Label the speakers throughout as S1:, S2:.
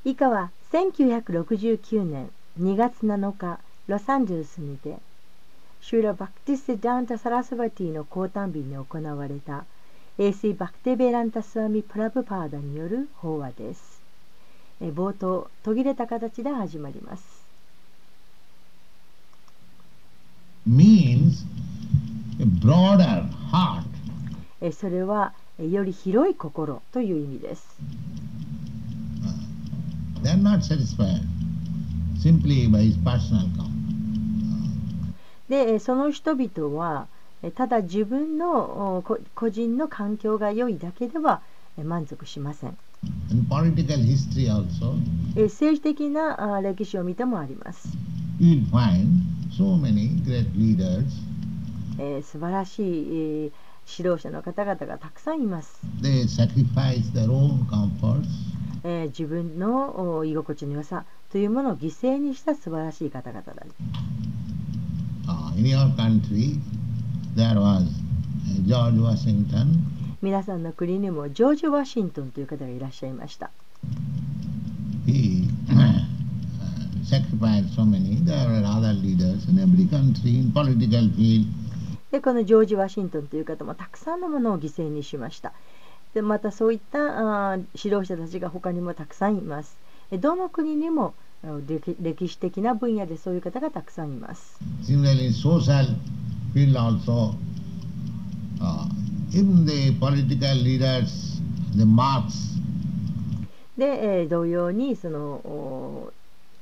S1: 以下は1969年2月7日、ロサンゼルスにて、シューラ・バクティス・ダンタ・サラスバティの降誕日に行われた、エーシー・バクテ・ベランタ・スワミ・プラブパーダによる法話です。冒頭、途切れた形で始まります。
S2: means a broader heart.
S1: それはより広い心という意味です。
S2: They are not satisfied simply by his personal comfort.
S1: で、その人々はただ自分の個人の環境が良いだけでは満足しません。
S2: In political history also,
S1: 政治的な歴史を見てもあります。
S2: you will find so many great leaders.
S1: 素晴らしい指導者の方々がたくさんいます。
S2: They sacrifice their own comforts.
S1: 自分の居心地の良さというものを犠牲にした素晴らしい方々だ。
S2: In your country, there was George Washington.
S1: 皆さんの国にもジョージ・ワシントンという方がいらっしゃいました。
S2: He sacrificed so many. There were other leaders in every country in political field.
S1: で、このジョージ・ワシントンという方もたくさんのものを犠牲にしました。で、またそういった指導者たちが他にもたくさんいます。どの国にも歴史的な分野でそういう方がたくさんいます。
S2: Similarly, social field also, even the political leaders, the Marx.
S1: で、同様にその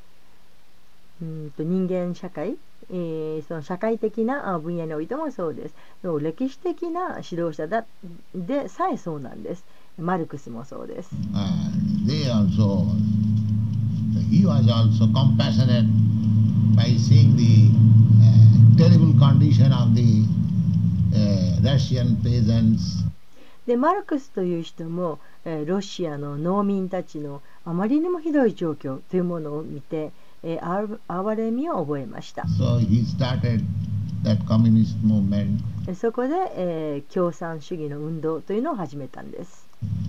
S1: 人間社会、その社会的な分野においてもそうです。歴史的な指導者でさえそうなんです。マルクスもそうです。
S2: He was also compassionate by seeing the terrible condition of the Russian peasants.
S1: で、マルクスという人もロシアの農民たちのあまりにもひどい状況というものを見て、哀れみを覚えました。
S2: So he started that communist movement.
S1: そこで、共産主義の運動というのを始めたんです。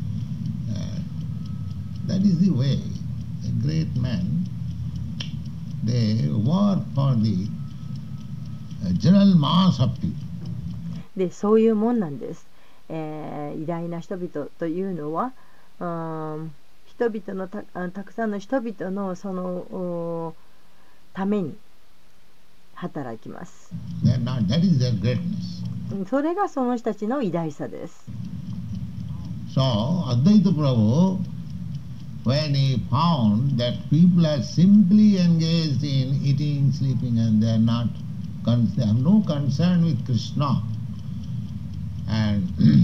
S2: That is the way. The great men, they work for the general mass of people.
S1: で、そういうもんなんです。偉大な人々というのは、人々のたくさんの人々のそのために働きます。
S2: That is their greatness.
S1: それがその人たちの偉大さです。
S2: So, Advaita Prabhu, when he found that people are simply engaged in eating, sleeping, and they have no concern with Krishna, and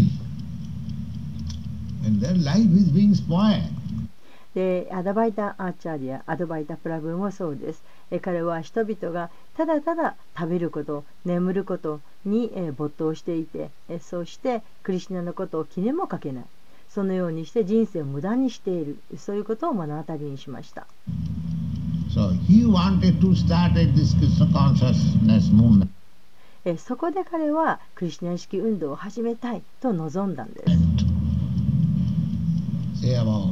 S2: their life is being spoiled.
S1: で、アドバイタ・アーチャーリア、アドバイタ・プラブもそうです。彼は人々がただただ食べること、眠ることに没頭していて、そしてクリシュナのことを気にもかけない。そのようにして人生を無駄にしている。そういうことを目の当たりにしました。
S2: So he wanted to start this Krishna consciousness movement.
S1: そこで彼はクリシュナ意識運動を始めたいと望んだんです。
S2: Say about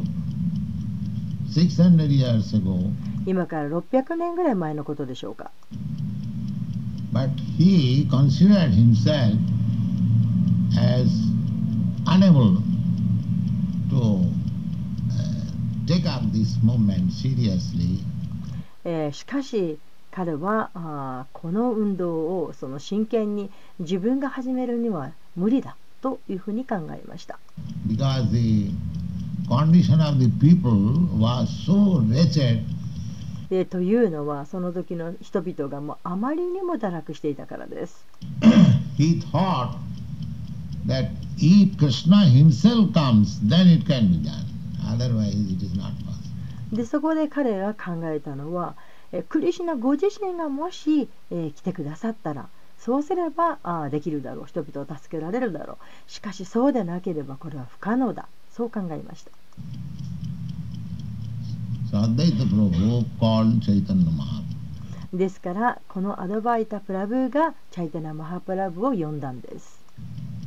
S2: 600 years ago.
S1: 今から600年ぐらい前のことでしょうか。
S2: But he considered himself as unable to take up this movement seriously.
S1: しかし彼はこの運動をその真剣に自分が始めるには無理だというふうに考えました。
S2: Because the condition of the people was so wretched.
S1: というのはその時の人々がもうあまりにも堕落していたからです。
S2: He thought that if Krishna himself comes, then it can be done. Otherwise, it is not possible.
S1: で、そこで彼が考えたのは、クリシュナご自身がもし、来てくださったら、そうすればできるだろう。人々を助けられるだろう。しかしそうでなければこれは不可能だ。そう考えました。ですからこのアドバイタ・プラブがチャイタナ・マハプラブを呼んだんです。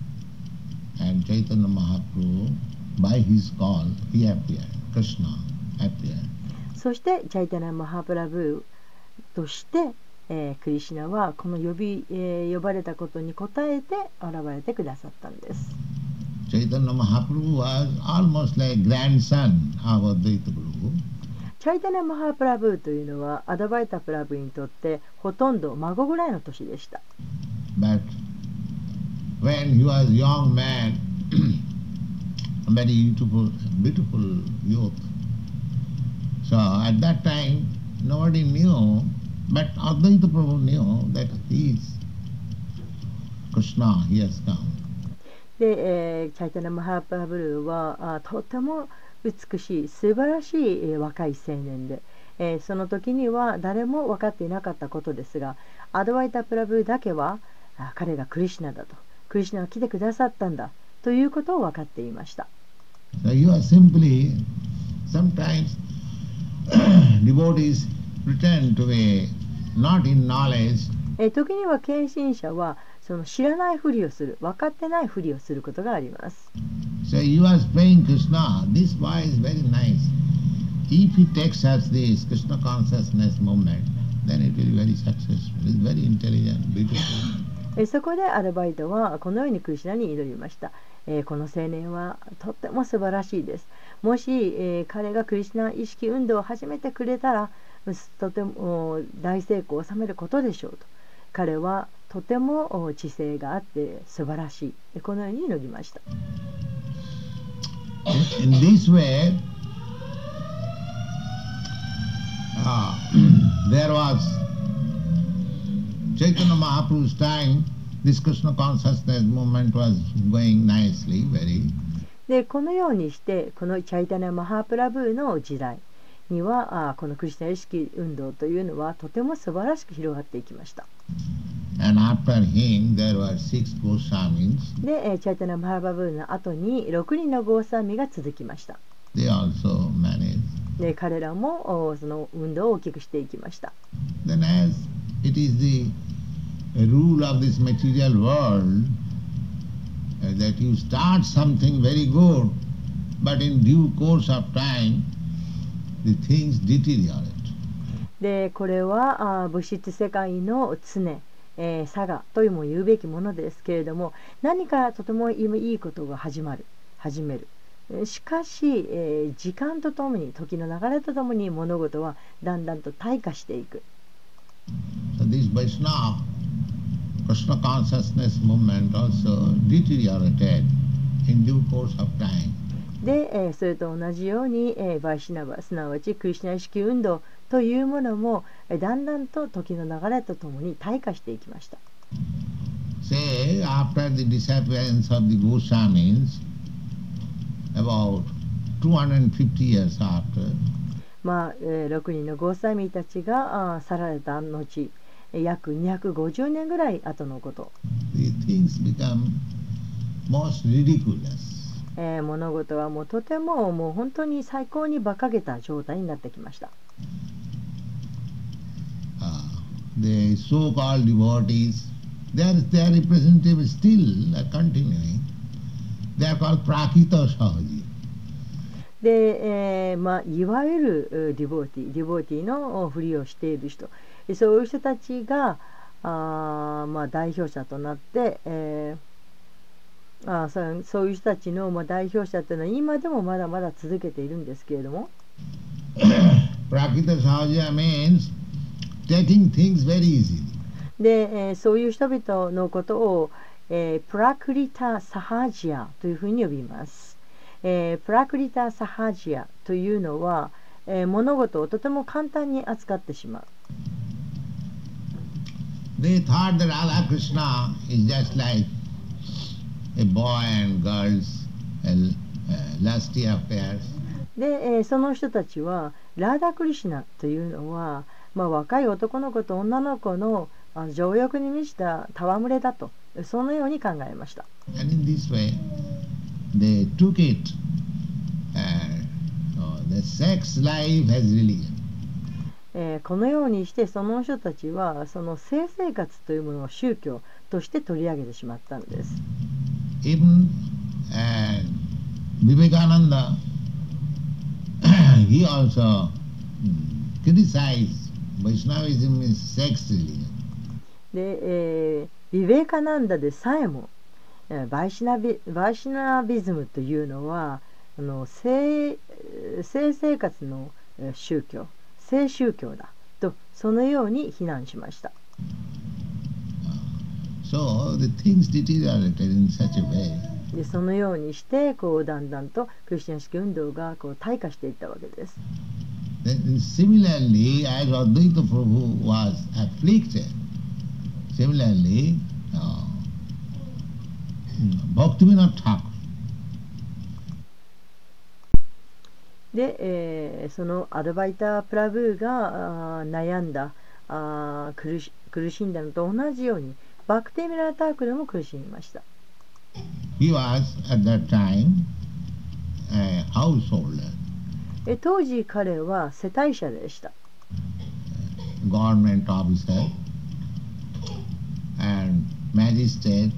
S2: And Chaitanya Mahaprabhu, by his call, he appeared, Krishna. appear.
S1: そしてチャイタナ・マハプラブとして、クリシュナはこの呼ばれたことに応えて現れてくださったんです。
S2: Chaitanya Mahaprabhu was almost like grandson of Advaita Prabhu.
S1: チャイタナ・マハプラブというのはアダバイタ・プラブにとってほとんど孫ぐらいの年でした。
S2: But when he was young man, a very beautiful youth, so at that time nobody knew, but Advaita Prabhu knew that he is Krishna, he has come.
S1: で、チャイタナ・マハプラブはとても美しい素晴らしい、若い青年で、その時には誰も分かっていなかったことですが、アドワイタ・プラブだけは彼がクリシュナだと、クリシュナが来てくださったんだということを分かっていました。
S2: So you are simply, sometimes devotees pretend to be not in knowledge.
S1: 時には献身者はその知らないふりをする、分かってないふりをすることがあります。
S2: So you are praying Krishna, this boy is very nice. If he takes us this Krishna consciousness movement, then it will be very successful. It is very intelligent, beautiful.
S1: そこでアルバイトはこのようにクリシュナに祈りました。この青年はとっても素晴らしいです。もし、彼がクリシュナ意識運動を始めてくれたらとても大成功を収めることでしょうと。彼はとても知性があって素晴らしい。このように祈りました。
S2: In this way, there was Chaitanya Mahaprabhu's time, this Krishna consciousness movement was going nicely, very.
S1: でこのようにしてこのチャイタナ・マハプラブーの時代にはこのクリシュナ意識運動というのはとても素晴らしく広がっていきました。
S2: And after him there were 6 Goswamis.
S1: でチャイタナ・マハプラブーの後に6人のゴーサーミが続きました。
S2: They also managed.
S1: で彼らもその運動を大きくしていきました。
S2: Then as it is the rule of this material world that you start something very good, but in due course of time the things deteriorate.
S1: でこれは物質世界の常、差がというも言うべきものですけれども、何かとてもいいことが始める。しかし、時間とともに時の流れとともに物事はだんだんと退化していく。
S2: So this Vaishnava Krishna consciousness movement also deteriorated in due course of time.
S1: で、それと同じように、バイシナバすなわちクリシュナ意識運動というものもだんだんと時の流れとともに退化していきました。
S2: Say after the disappearance of the Goswamis, about 250 years after,
S1: 6人のゴーサミたちが去られた後、約250年ぐらい後のこと。
S2: the things become most ridiculous.
S1: 物事はもうとても本当に最高に馬鹿げた状態になってきました。
S2: The so-called devotees, their representative still continuing. They are called Prakita Sahaji.
S1: で、いわゆるディボーティーのふりをしている人、そういう人たちが代表者となって、そういう人たちの代表者というのは今でもまだまだ続けているんですけれども
S2: Prakita Sahaja means taking things very easily.
S1: で、そういう人々のことを、プラクリタ・サハジアというふうに呼びます。プラクリタ・サハジアというのは、物事をとても簡単に扱ってしまう。
S2: They thought that Radha Krishna is just like a boy and girls, lusty affairs.
S1: で、その人たちはラーダ・クリシュナというのは、若い男の子と女の子の情欲に満ちた戯れだと、そのように考えました。
S2: And in this way, they took it, the sex life as religion.
S1: このようにしてその人たちはその性生活というものを宗教として取り上げてしまったんです。
S2: Even Vivekananda, he also criticized Vaishnavism is sex religion.
S1: で、ビベーカナンダでさえもバイシナビズムというのは性生活の宗教、性宗教だとそのように非難しました。
S2: So the things deteriorated in such a way.
S1: でそのようにしてだんだんとクリスチャン式運動が退化していったわけです。
S2: Then similarly, as Advaita Prabhu was afflicted, similarly, Bhaktivinoda Thakur.
S1: で、そのアドバイター・プラブーが悩んだ苦しんだのと同じようにバクティミラー・タークルも苦しみました。
S2: He was at that time a householder.
S1: 当時彼は世帯者でした。
S2: Government officer and magistrate.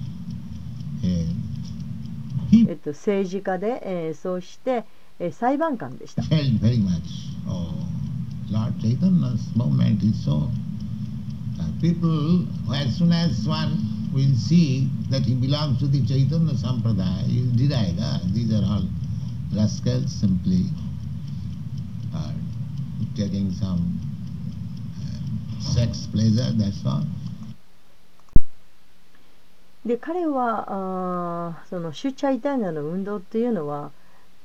S1: 政治家で、そして、裁判官でした。
S2: Felt very much. Oh, Lord Chaitanya's movement is so. People, as soon as one will see that he belongs to the Chaitanya Sampradaya, he will deride. These are all rascals simply taking some sex pleasure, that's all.
S1: で彼はそのシュチャイタニャの運動っていうのは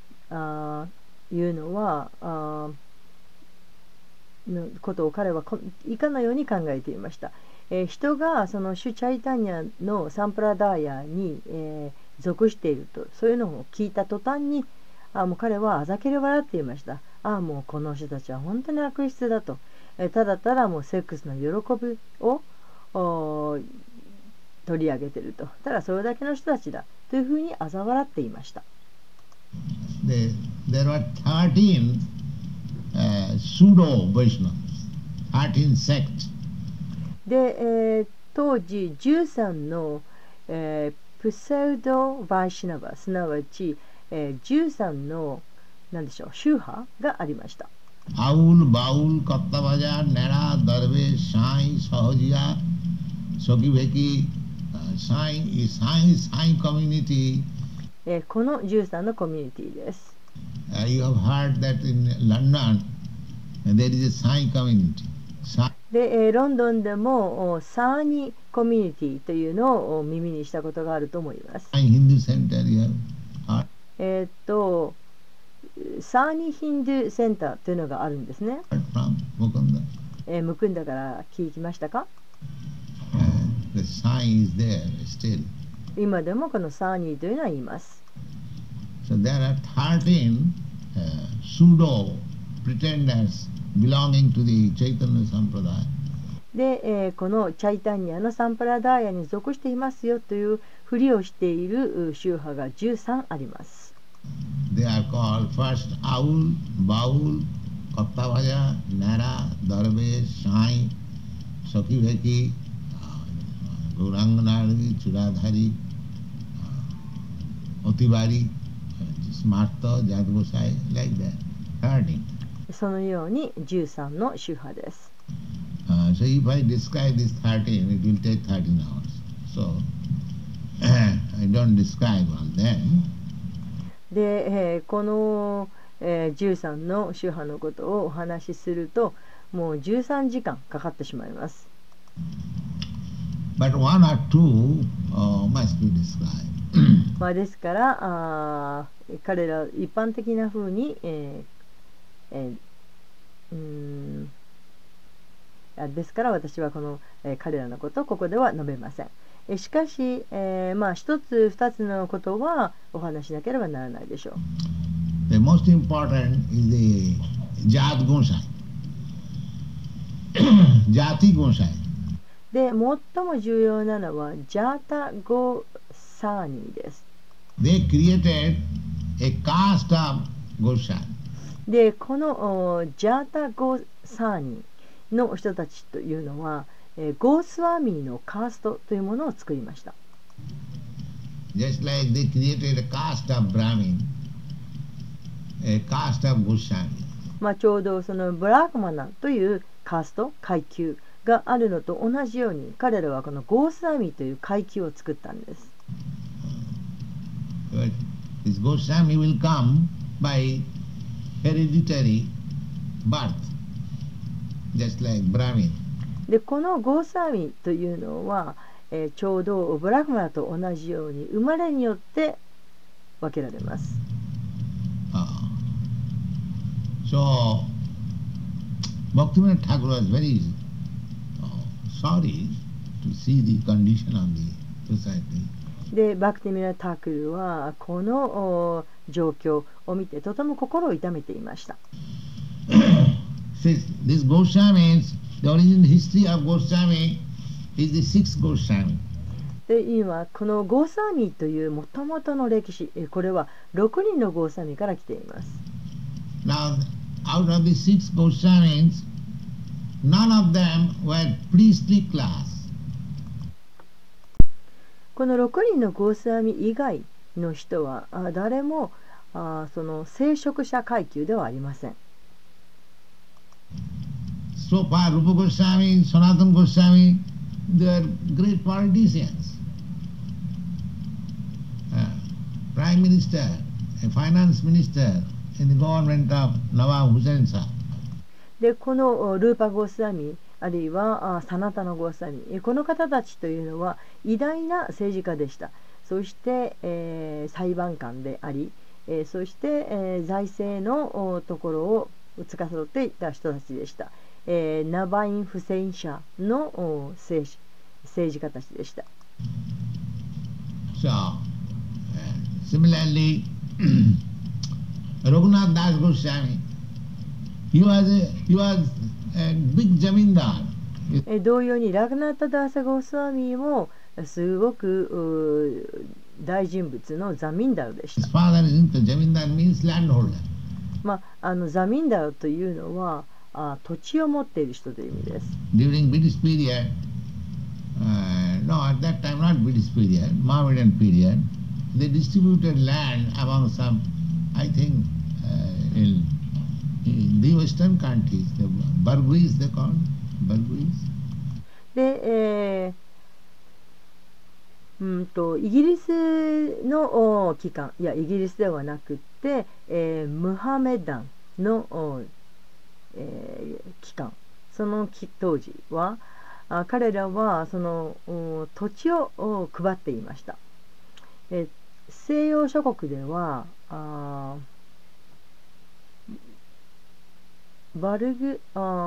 S1: のことを彼は以下のように考えていました。人がそのシュチャイタニャのサンプラダーヤに、属しているとそういうのを聞いた途端にもう彼はあざけり笑っていました。もうこの人たちは本当に悪質だと、ただただもうセックスの喜びを取り上げていると、ただそれだけの人たちだというふうに嘲笑っていました。
S2: There were 13 pseudo Vaishnavas, 13 sects.
S1: で、当時13の、プセウド・バイシナバ、すなわち、13の何でしょう宗派がありました。
S2: アウル、バウル、カッタバジャ、ネラ、ダルベ、シャイ、サホジア、ソキベキ、サインコミュニティ。
S1: この13のコミュニティです。
S2: You have heard that in London there is a Sai community.
S1: で、ロンドンでもサーニコミュニティというのを耳にしたことがあると思います。
S2: サーニヒンド
S1: ゥセンターというのがあるんですね。ムクンダから聞きましたか？今でもこのサーニーというのは言います。
S2: So there are 13 pseudo pretenders belonging to the Chaitanya Sampradaya.
S1: で、このチャイタニアのサンプラダーヤに属していますよというふりをしている宗派が13あります。
S2: They are called first Aul, Baul, Kattavaja, Nara, Darbe, Sai, Sakiveki, Guranganari, Churadhari, Otibari, Smarta, Jadgosai, like that. 13.
S1: そのように13の宗派です。
S2: So if I describe this 13, it will take 13 hours. So I don't describe all them.
S1: で、この、13の宗派のことをお話しするともう13時間かかってしまいます。
S2: But one or two must be described.
S1: ですから彼ら一般的な風に、ですから私はこの、彼らのことをここでは述べません。しかし、一つ二つのことはお話しなければならないでしょう。
S2: The most important is the Jat Gonsai. Jati Gonsai.
S1: で、最も重要なのはジャータ・ゴサーニーです。
S2: They created a caste of Gosai.
S1: で、このジャータ・ゴサーニーの人たちというのは、ゴースワーミーのカーストというものを作りました。
S2: Just like they created a caste of Brahmin. a caste of Goswami.
S1: ちょうどそのブラーマナというカースト階級があるのと同じように、彼らはこのゴースワミという階級を作ったんです。
S2: But this Goswami will come by hereditary birth, just like Brahmin.
S1: でこのゴースワミというのは、ちょうどブラーマナと同じように生まれによって分けられます。
S2: So, Bhaktivinoda Thakur was very sorry to see the condition of the society.
S1: でバクティミラ・タークルはこの状況を見てとても心を痛めていました。
S2: This Goswamis, the origin history of Goswami is the sixth Goswami.
S1: で今このゴーサミというもともとの歴史、これは6人のゴーサミから来ています。
S2: Now, out of the six Goswamis, none of them were priestly class.
S1: この6人のゴースワミ以外の人は誰もその聖職者階級ではありません。
S2: So far, Rupa Goswami, Sanatana Goswami, they are great politicians. Prime Minister, a finance minister in the government of Nawab Hussain Shah.
S1: でこのルーパ・ゴースワミあるいはサナタナ・ゴースワミ、この方たちというのは偉大な政治家でした。そして、裁判官であり、そして、財政のところを司っていた人たちでした。ナバイン・フセイン社の政治家たちでした。
S2: So, similarly, Raghunath Das Goswami, he was a big zamindar.
S1: 同様にラグナータ・ダーサ・ゴースワミもすごく大人物のザミンダルでした。
S2: His father is into zamindar means landholder.
S1: ザミンダルというのは土地を持っている人という意味です。
S2: During British period, no, at that time not British period, Mohammedan period, they distributed land among some, I think, in the western countries, the Burguese they called, Burguese.
S1: で、イギリスの機関、いやイギリスではなくて、ムハメダンの機関、その当時は彼らはその土地を配っていました。西洋諸国ではバルグ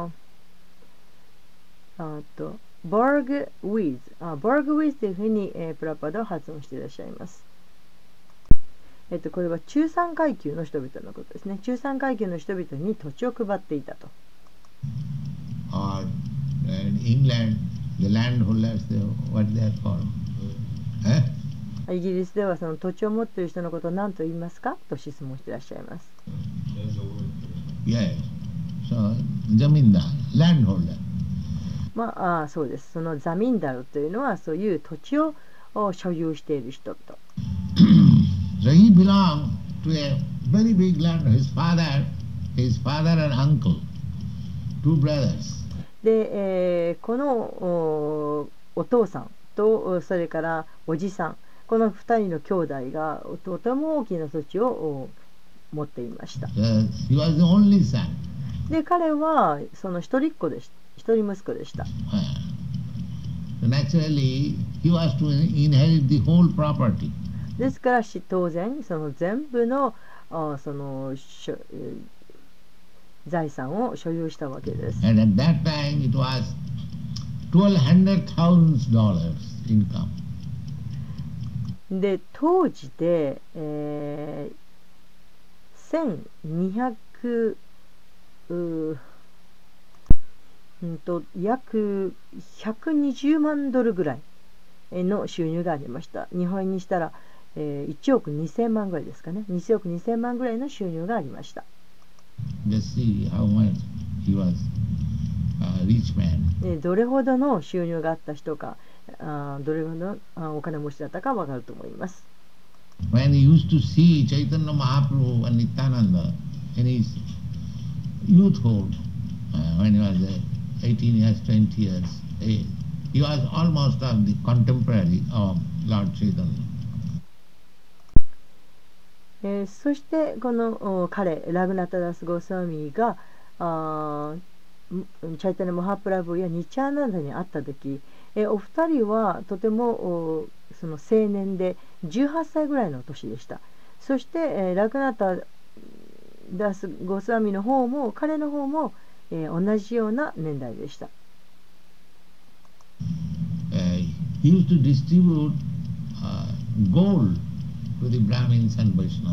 S1: ウィズというふうに、プラパダは発音していらっしゃいます。これは中産階級の人々のことですね。中産階級の人々に土地を配っていたと。
S2: Or in England, the landholders, what they are called?
S1: イギリスではその土地を持っている人のことを何と言いますかと質問していらっしゃいます。
S2: Yes. So, zamindar, landholder.
S1: そうです。そのザミンダルというのはそういう土地を所有している人と。
S2: So he belonged to a very big land. His father and uncle, two brothers.
S1: で、このお父さんとそれからおじさん、この2人の兄弟がとても大きな土地を持っていました。
S2: He was the only son.
S1: で、彼はその一人息子でした。一人息子でした。
S2: So naturally, he was to inherit the whole property.
S1: ですから当然その全部のその財産を所有したわけです。
S2: And at that time it was $1,200,000 income.
S1: で当時で、1200約120万ドルぐらいの収入がありました。日本円にしたら、1億2000万ぐらいですかね。2億2000万ぐらいの収入がありました。
S2: Just see how much he was a rich man.
S1: どれほどの収入があった人か、どれほどお金持ちだったかわかると思います。
S2: When he used to see Chaitanya Mahaprabhu and Nityananda, in his youthhood, when he was 18 years, 20 years age. He was almost of the contemporary of Lord Chaitanya.
S1: そしてこの彼ラグナタダス・ゴースワミがチャイタニャ・マハプラブやニチャーナンダに会った時、お二人はとてもその青年で18歳ぐらいの年でした。そして、ラグナタダス・ゴスワミの方も彼の方も、同じような年代でした。
S2: He used to distribute gold to the Brahmins and Vaishnavas.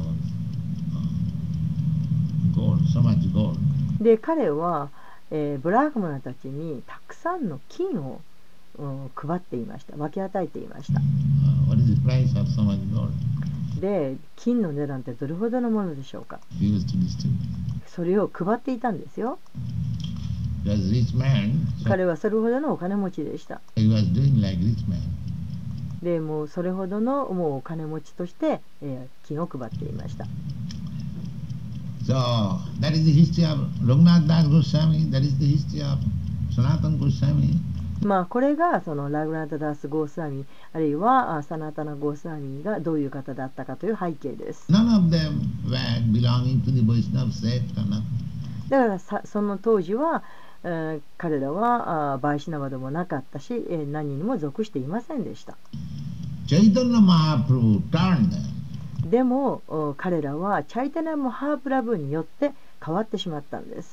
S2: Gold, so much gold.
S1: で彼は、ブラフマナたちにたくさんの金を配っていました。分け与えていました。
S2: What is the price of so much gold?
S1: で金の値段ってどれほどのものでしょうか。
S2: He used to distribute.
S1: それを配っていたんですよ。
S2: He was a rich man, so
S1: 彼はそれほどのお金持ちでした。
S2: he was doing like rich man.
S1: でもうそれほどのもうお金持ちとして、金を配っていました。
S2: So that is the history of Raghunath Das Goswami, that is the history of Sanatana Goswami.
S1: まあこれがそのラグナタダス・ゴースワミあるいはサナタナ・ゴースワミがどういう方だったかという背景です。
S2: None of them were belonging to the Vaishnava sect or nothing.
S1: だからその当時は、彼らはバイシナバでもなかったし、何にも属していませんでした。
S2: Chaitanya Mahaprabhu turned them.
S1: でも彼らはチャイタニャ・マハープラブによって変わってしまったんです。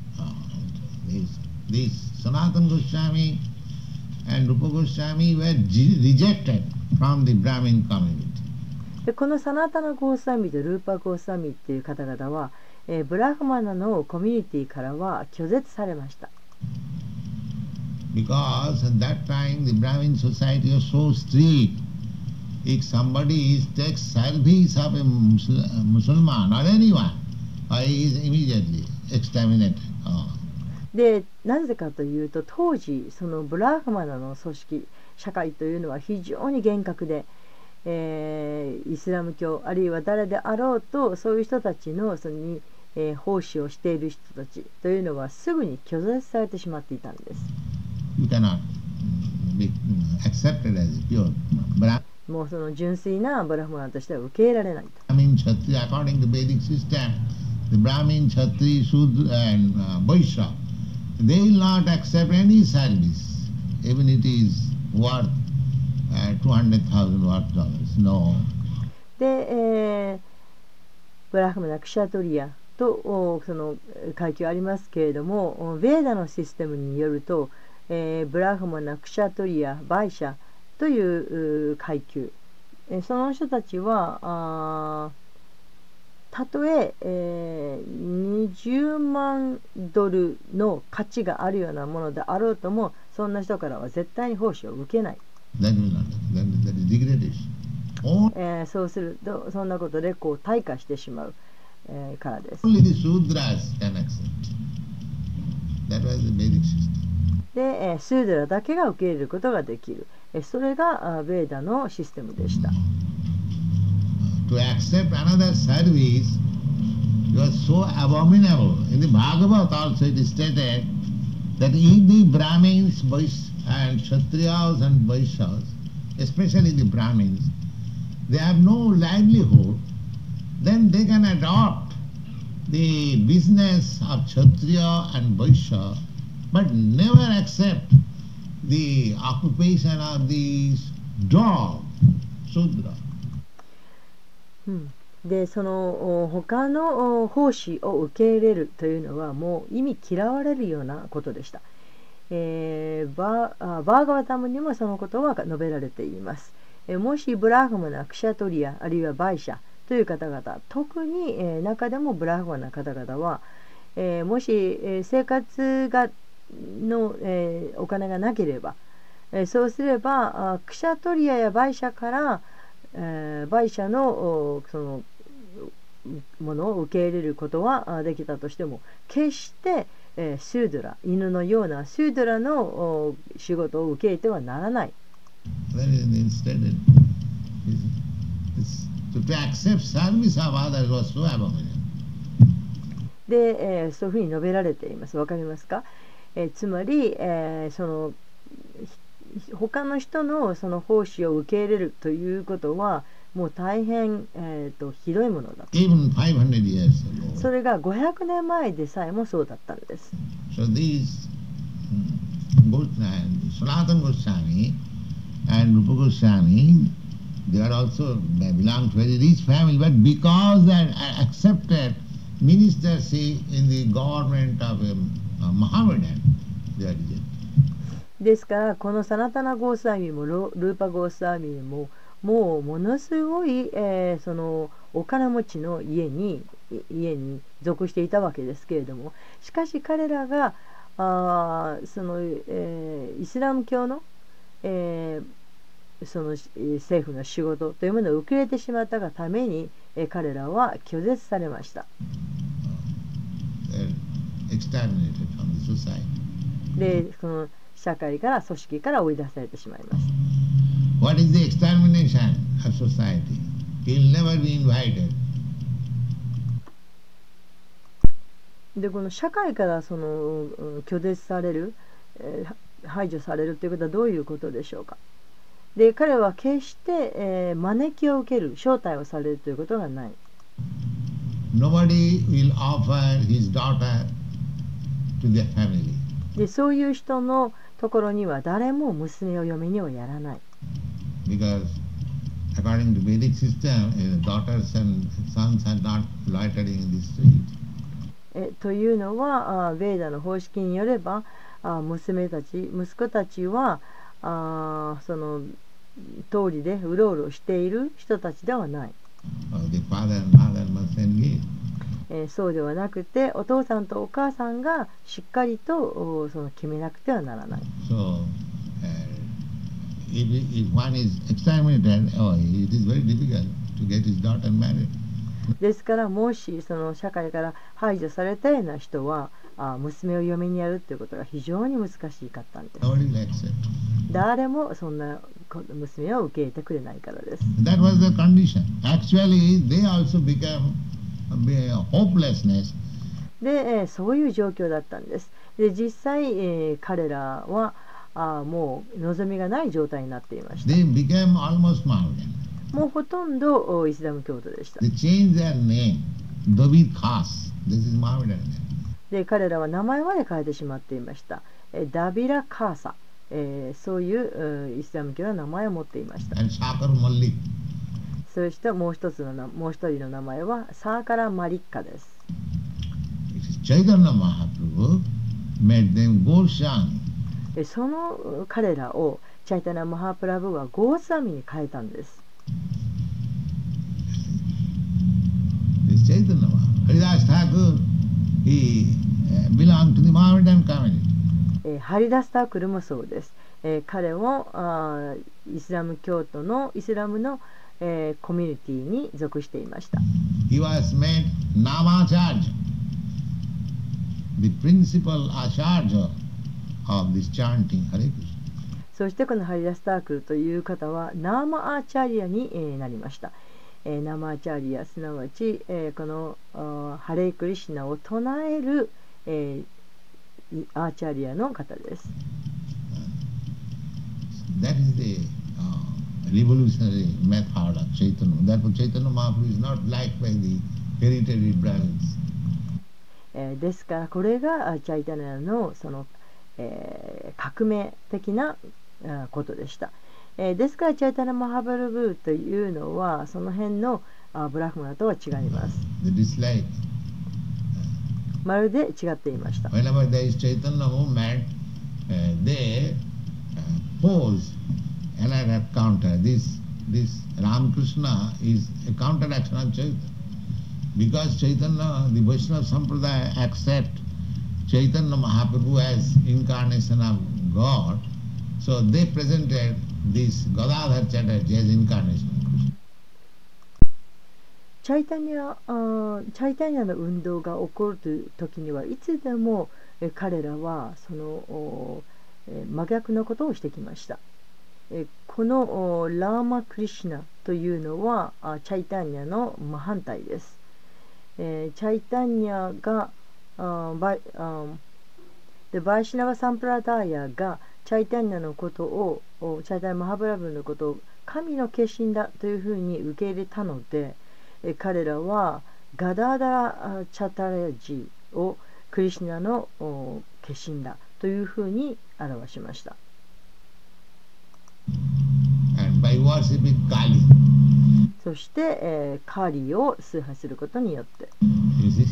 S2: These Sanatana Goswami and Rupa Goswami were rejected from the Brahmin community.
S1: でこのサナタナ・ゴースワミとルーパ・ゴースワミっていう方々は、ブラフマナのコミュニティからは拒絶されました。
S2: Because at that time the Brahmin society was so strict. If somebody takes service of a Muslim or anyone, he is immediately exterminated.
S1: でなぜかというと当時そのブラフマナの組織社会というのは非常に厳格で、イスラム教あるいは誰であろうとそういう人たちのその奉仕をしている人たちというのはすぐに拒絶されてしまっていたんです。
S2: You cannot be accepted as pure Brahmin.
S1: もうその純粋なブラフマナとしては受け入れられないと。
S2: Brahmin, Kshatriya, according to Vedic system, the Brahmin, Kshatriya, Shudra and Vaishya, they will not accept any service, even it is worth $200,000 worth. No.
S1: で、ブラフマナ、クシャトリアとその階級ありますけれども、ヴェーダのシステムによると、ブラフマナ、クシャトリア、バイシャという階級、その人たちはたとえ20万ドルの価値があるようなものであろうともそんな人からは絶対に奉仕を受けない。そうするとそんなことでこう退化してしまう、からです。で、スードラだけが受け入れることができる。それがベーダのシステムでした。
S2: To accept another service was so abominable. In the Bhagavad also it is stated that if the Brahmins and Kshatriyas and Vaishyas, especially the Brahmins, they have no livelihood, then they can adopt the business of Kshatriya and Vaishya, but never accept the occupation of the dog, Sudra.
S1: でその他の奉仕を受け入れるというのはもう意味嫌われるようなことでした。バーガワタムにもそのことは述べられています。もしブラフマナ、クシャトリアあるいはバイシャという方々、特に中でもブラフマナの方々は、もし生活のお金がなければ、そうすればクシャトリアやバイシャからバイシャのそのものを受け入れることはできたとしても決してスードラ犬のようなスードラの仕事を受け入れてはならない。 で、そういうふうに述べられています。わかりますか？つまり、他の人のその奉仕を受け入れるということはもう大変、ひどいものだと。
S2: Even 500 years
S1: そ
S2: ago.
S1: れが500年前でさえもそうだったんです。
S2: So these Sanatana Goswami and Rupa Goswami, they are also they belong to very rich family, but because they are accepted ministership in the government of a Mohammedan, they are rejected.
S1: ですからこのサナタナ・ゴースワミもルーパ・ゴースワミももうものすごい、そのお金持ちの家に属していたわけですけれども、しかし彼らがその、イスラム教の、その政府の仕事というものを受け入れてしまったがために、彼らは拒絶されました。で、その社会から組織から追い出されてしまいます。
S2: What is the extermination of society? He will never be invited.
S1: で、この社会からその拒絶される、排除されるということはどういうことでしょうか。で、彼は決して、招きを受ける、招待をされるということがない。
S2: Nobody will offer his daughter to their family.
S1: で、そういう人のところには誰も娘を嫁にはやらない。
S2: Because according to Vedic system, daughters and sons are not loitering in the street.
S1: というのは、ヴェーダの方式によれば、娘たち、息子たちはその通りでうろうろしている人たちではない。
S2: The father and mother must engage.
S1: そうではなくて、お父さんとお母さんがしっかりとその決めなくてはならない。
S2: So, if one is exterminated, it is very difficult to get his daughter married.
S1: ですからもしその社会から排除されたような人は娘を嫁にやるということが非常に難しかったんです。誰もそんな娘を受け入れてくれないからです。
S2: That was the condition. Actually, they also became hopelessness.
S1: で、そういう状況だったんです。で、実際、彼らはもう望みがない状態になっていました。
S2: They became almost Mohammedan.
S1: もうほとんどイスラム教徒でした。
S2: They changed their name, David Khas. This is Mohammedan name.
S1: で、彼らは名前まで変えてしまっていました。ダビラ・カーサ、そういうイスラム教の名前を持っていました。
S2: And Shakar Malik.
S1: そしてもう一人の名前はサーカラ・マリッカです。
S2: Chaitanya Mahaprabhu made them Goswami.
S1: その彼らをチャイタナ・マハプラブはゴースワミに変えたんです。
S2: This Chaitanya Mahaprabhu. Haridas Thakur, he belonged to the Mohammedan community.
S1: ハリダスタークルもそうです。彼もイスラム教徒のイスラムのコミュニティに属していました。
S2: He was made Namacharya, the principal acharya of this chanting Hare Krishna.
S1: そしてこのハリダスタークルという方はナーマアーチャリアになりました。ナーマアーチャリアすなわちこのハレイクリシナを唱えるアーチャリアの方です。
S2: That is the revolutionary method of Chaitanya. Therefore, Chaitanya Mahaprabhu is not liked by the hereditary Brahmins.
S1: ですからこれがチャイタナのその、革命的なことでした。ですからチャイタナ・マハプラブというのはその辺のブラフマナとは違います。まるで違っていました。
S2: Whenever there is Chaitanya movement, they pose another counter. This Ramakrishna is a counteraction of Chaitanya. Because Chaitanya, the Vaishnava Sampradaya accept Chaitanya Mahaprabhu as incarnation of God, so they presented this Gadadhar Chatterjee as incarnation of Krishna.
S1: チャイタニャの運動が起こるという時にはいつでも彼らはその真逆のことをしてきました。このラーマ・クリシュナというのはチャイタニャの真反対です。 チャイタニアがバイシナバ・サンプラダーヤがチャイタニアのことをチャイタニア・マハプラブのことを神の化身だというふうに受け入れたので、彼らはガダーダラ・チャタレジをクリシュナの化身だというふうに表しました。
S2: And by worshiping Kali.
S1: そして、カーリーを崇拝することによって。
S2: You see?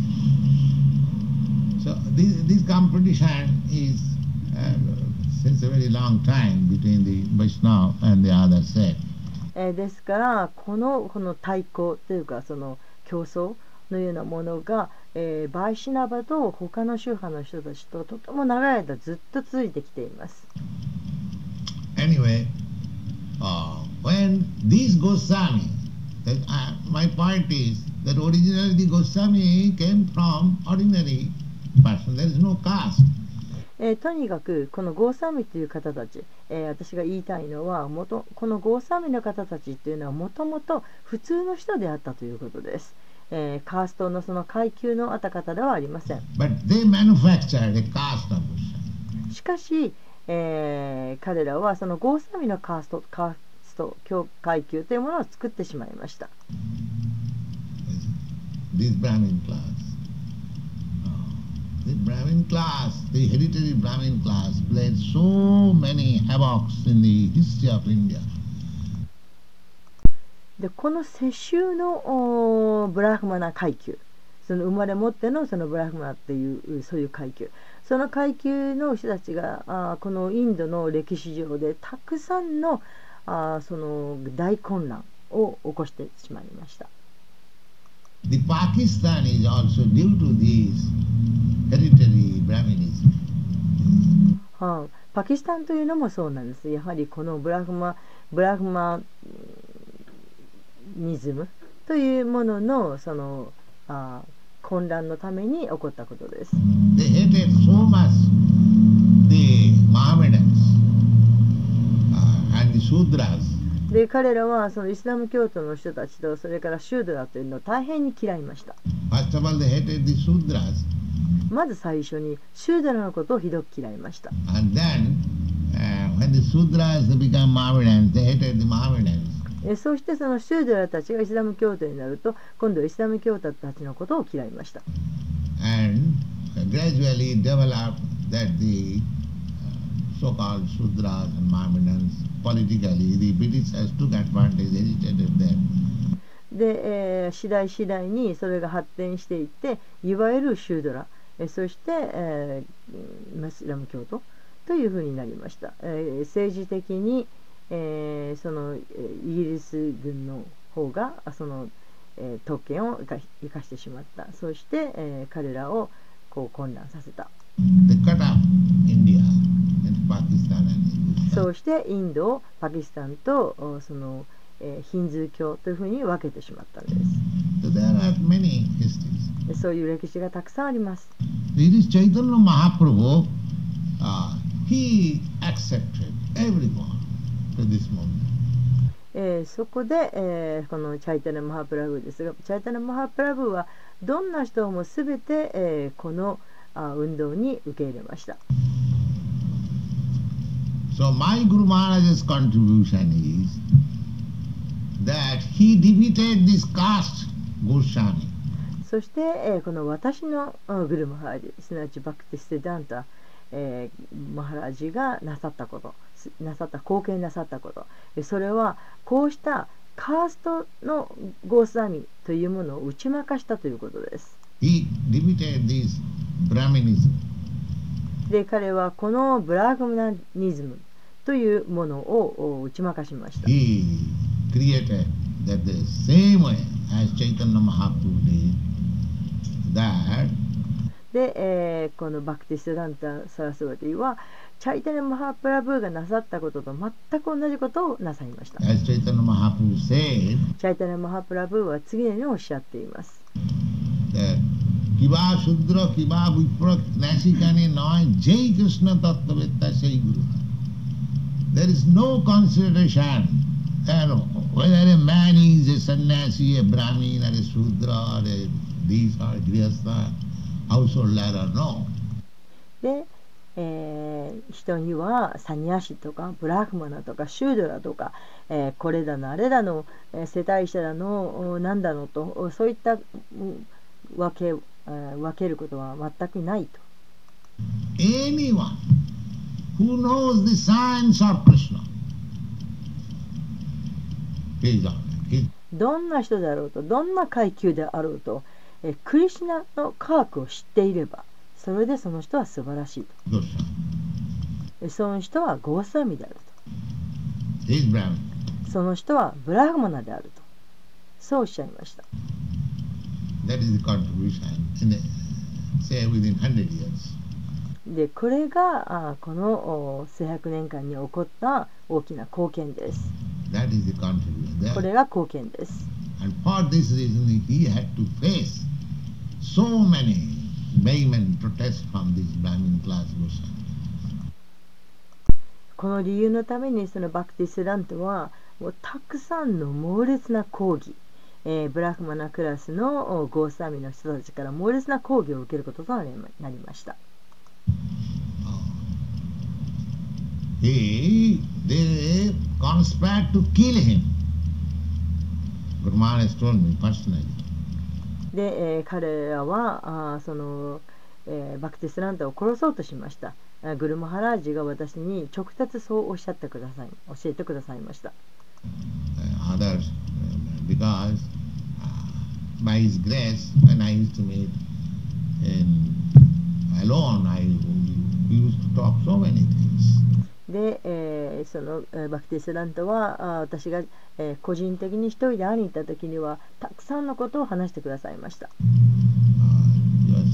S2: So this competition is since a very long time between the Vaishnava and the other sect.
S1: ですからこの対抗というかその競争のようなものが、バイシナバと他の宗派の人たちととても長い間ずっと続いてきています。
S2: Anyway, when these Goswami, my point is that originally the Goswami came from ordinary person. There is no caste.
S1: とにかくこのゴーサミという方たち、私が言いたいのはこのゴーサミの方たちというのはもともと普通の人であったということです。カーストのその階級のあった方ではありません。
S2: But they manufactured a caste of Goswami.
S1: しかし、彼らはそのゴーサミのカースト階級というものを作ってしまいました。
S2: This Brahmin class. The Brahmin class, the hereditary Brahmin class, played so many havocs in the history of India.
S1: でこの世襲のブラフマナ階級、その生まれ持ってのそのブラフマナっていうそういう階級、その階級の人たちがこのインドの歴史上でたくさんのその大混乱を起こしてしまいました。
S2: The Pakistan is also due to this hereditary Brahminism.
S1: パキスタンというのもそうなんです。やはりこのブラフマニズムというもののその混乱のために起こったことです。
S2: They hated so much the Mohammedans and the Sudras.
S1: で彼らはそのイスラム教徒の人たちとそれからシュードラというのを大変に嫌いました。
S2: First of all, they hated the Sudras.
S1: まず最初にシュードラのことをひどく嫌いました。
S2: And then, when the Sudras become Mohammedans, they hated the Mohammedans.
S1: そしてそのシュードラたちがイスラム教徒になると今度はイスラム教徒たちのことを嫌いました。
S2: And gradually developed that the so-called Sudras and Mohammedans politically, the Britishers took advantage, agitated them.
S1: で、次第にそれが発展していっていわゆるシュードラ、そして、イスラム教徒というふうになりました。政治的に、そのイギリス軍の方がその、特権を生かしてしまった。そして、彼らをこう混乱させた。そうしてインドをパキスタンとその、ヒンズー教というふうに分けてしまったんです。そういう歴史がたくさんあります。
S2: Chaitanya Mahaprabhu, he accepted everyone to this moment.
S1: そこで、このチャイタナ・マハプラブですが、チャイタナ・マハプラブはどんな人もすべて、この運動に受け入れました。
S2: So my Guru Maharaj's contribution is that he defeated this caste Goswami.
S1: そして、この私のグルマハラジ、すなわちバクティステダンタ、マハラジがなさった貢献なさったこと、それはこうしたカーストのゴースワミというものを打ち負かしたということです。
S2: He defeated this Brahminism.
S1: で彼はこのブラグマニズムというものを打ち負かしました。
S2: He created that the same way as Chaitanya Mahaprabhu did that.
S1: で、このバクティストダンタ・サラスワティはチャイタニャ・マハプラブーがなさったことと全く同じことをなさいました。
S2: As Chaitanya Mahaprabhu said,
S1: チャイタニャ・マハプラブーは次のようにおっしゃっています。
S2: Kiba Shudra Kiba Vipra Nasikane Noy Jai Krishna Tattvetta Sai Guru. There is no consideration whether a man is a sannyasi, a brahmin, or a Shudra, or a these are grihastha, household ladder, no.
S1: で、人にはサニヤシとかブラフマナとかシュードラとか、これだのあれだの、世帯者だのなんだのと、そういった分けることは全くないと。
S2: Anyone who knows the science of Krishna, he is all right.
S1: どんな人であろうと、どんな階級であろうと、クリシュナの科学を知っていれば、それでその人は素晴らしいと。その人はゴーサミであると。
S2: He is Brahman.
S1: その人はブラフマナであると。そうおっしゃいました。
S2: That is the contribution in the, say within 100 years.
S1: で、これがこの数百年間に起こった大きな貢献です。
S2: That is the contribution.
S1: これが貢献です。
S2: And for this reason he had to face so many vehement protests from this Brahmin class Goswami.
S1: この理由のためにそのバクティスラントはもうたくさんの猛烈な抗議、ブラフマナクラスのゴーサミの人たちから猛烈な抗議を受けることとなりました。
S2: They conspired to kill him. Guru Maharaj told me personally.
S1: で、彼らはその、バクティスラントを殺そうとしました。グルマハラージが私に直接そうおっしゃってください、教えてくださいました。
S2: Others, because by his grace, when I used to meet alone, I used to talk so many things.
S1: で、そのバクティスラントは私が、個人的に一人で会いに行った時にはたくさんのことを話してくださいました。
S2: Yes.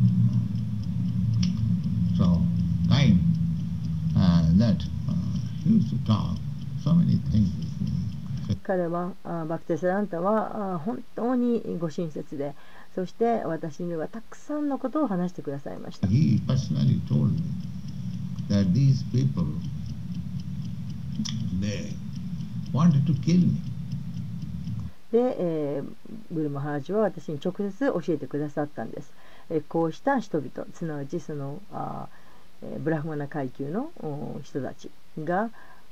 S2: So kind that he used to talk so many things with me.
S1: 彼はバクティスラントは本当にご親切で、そして私にはたくさんのことを話してくださいました。
S2: He personally told me that these people, they wanted to kill me.
S1: で、グルマハラージは私に直接教えてくださったんです。こうした人々、すなわちそのブラフマナ階級の人たちが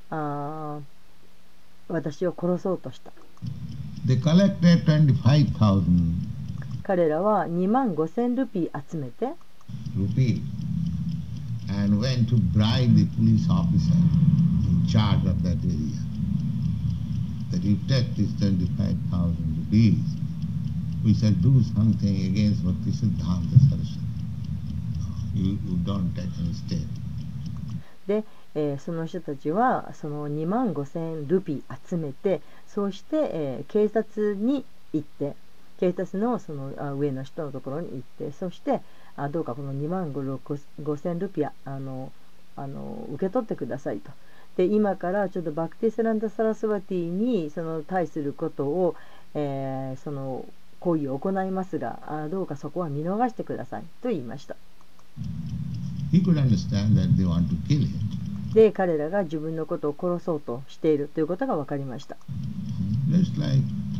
S1: 私を殺そうとした。
S2: They collected 25,000
S1: 彼らは25,000ルピー集めて、
S2: rupees and went to bribe the police officer in charge of that area. That you take this 25,000 rupees, we shall do something against Bhakti Siddhanta Saraswati. You don't take any step.
S1: で、その人たちはその25,000ルピー集めて、そうして、警察に行って、警察のその上の人のところに行って、そしてどうかこの25,000ルピア受け取ってくださいと。で、今からちょっとバクティスランダ・サラスワティにその対することを、その行為を行いますが、どうかそこは見逃してくださいと言いました。
S2: He could understand that they want to kill him.
S1: で、彼らが自分のことを殺そうとしているということが分かりました。
S2: Just like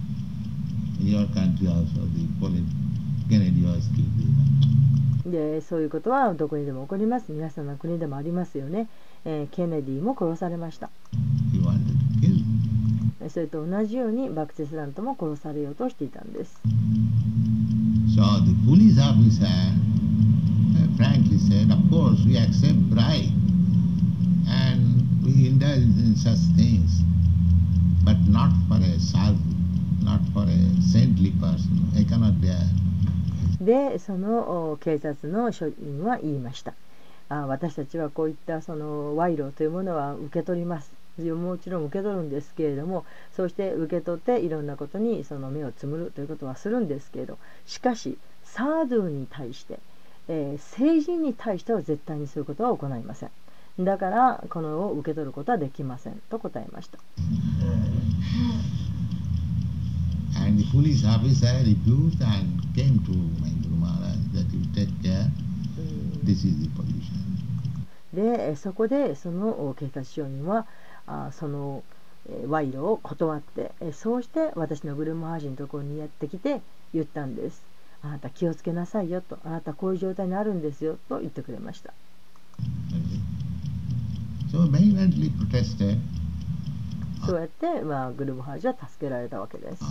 S2: in your country also, the Kennedy was killed.
S1: で、そういうことはどこにでも起こります。皆さんの国でもありますよね。ケネディも殺されました。
S2: He wanted to kill.
S1: それと同じようにバクティスラントも殺されようとしていたんです。
S2: So the police officer frankly said, of course we accept bribe and we indulge in such things, but not for a sadhu, not for a saintly person. I cannot bear.
S1: で、その警察の署員は言いました。私たちはこういったその賄賂というものは受け取ります。もちろん受け取るんですけれども、そうして受け取っていろんなことにその目をつむるということはするんですけれど、しかしサードゥに対して、聖人に対しては絶対にそういうことは行いません。だからこのを受け取ることはできませんと答えました。
S2: And the police officer refused and came to my Guru Maharaj that you take care. This is the position.
S1: で、そこでその警察署員はその賄賂を断って、そうして私のグルマハージのところにやってきて言ったんです。 あなた気をつけなさいよと、あなたこういう状態になるんですよと言ってくれました。
S2: So vehemently protested.
S1: そうやって、グルバハージは助けられたわけです。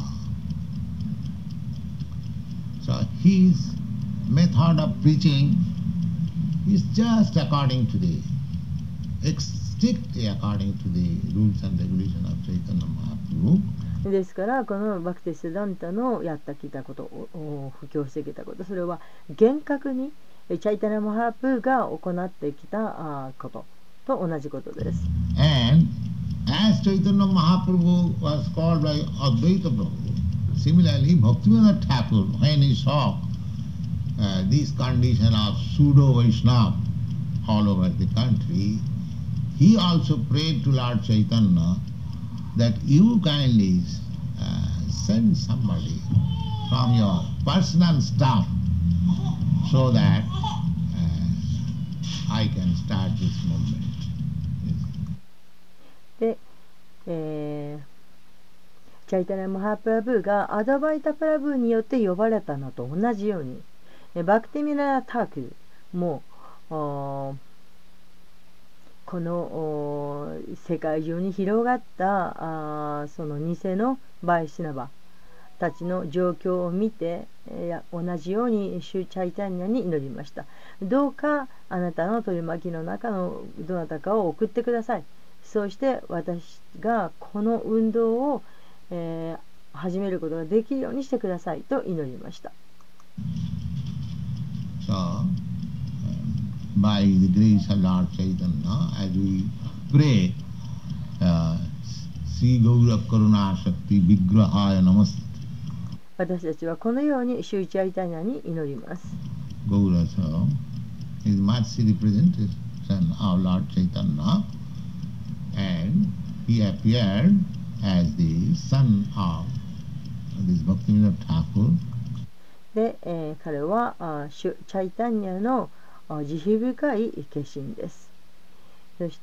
S2: So his method of preaching is just according to the strictly according to the rules and regulations of Chaitanya Mahaprabhu.
S1: ですからこのバクティシダンタのやってきたことを布教してきたこと、それは厳格にチャイタナ・マハプーが行ってきたことと同じことです。
S2: And as Chaitanya Mahaprabhu was called by Advaita Prabhu, similarly Bhaktivinoda Thakur, when he saw this condition of pseudo Vaishnava all over the country, he also prayed to Lord Chaitanya that you kindly send somebody from your personal staff so that I can start this movement.
S1: で、チャイタナ・マハプラブーがアドバイタ・プラブーによって呼ばれたのと同じように、バクティミラ・タークもこの世界中に広がったその偽のバイシナバたちの状況を見て、同じようにシュチャイタニアに祈りました。どうかあなたの取り巻きの中のどなたかを送ってください。そうして私がこの運動を、始めることができるようにしてくださいと祈りました。
S2: So, by the grace of Lord Chaitanya, as we pray, Sri Gaura Karuna Shakti Vigrahaya Namaste.
S1: 私たちはこのようにシュチャイタニアに祈ります。
S2: Gaura so is Matsi representation of Lord Chaitanya, and he appeared as the son of this Bhaktivinoda Thakur.
S1: で、彼はシュチャイタニアの慈悲深い化身です。そして、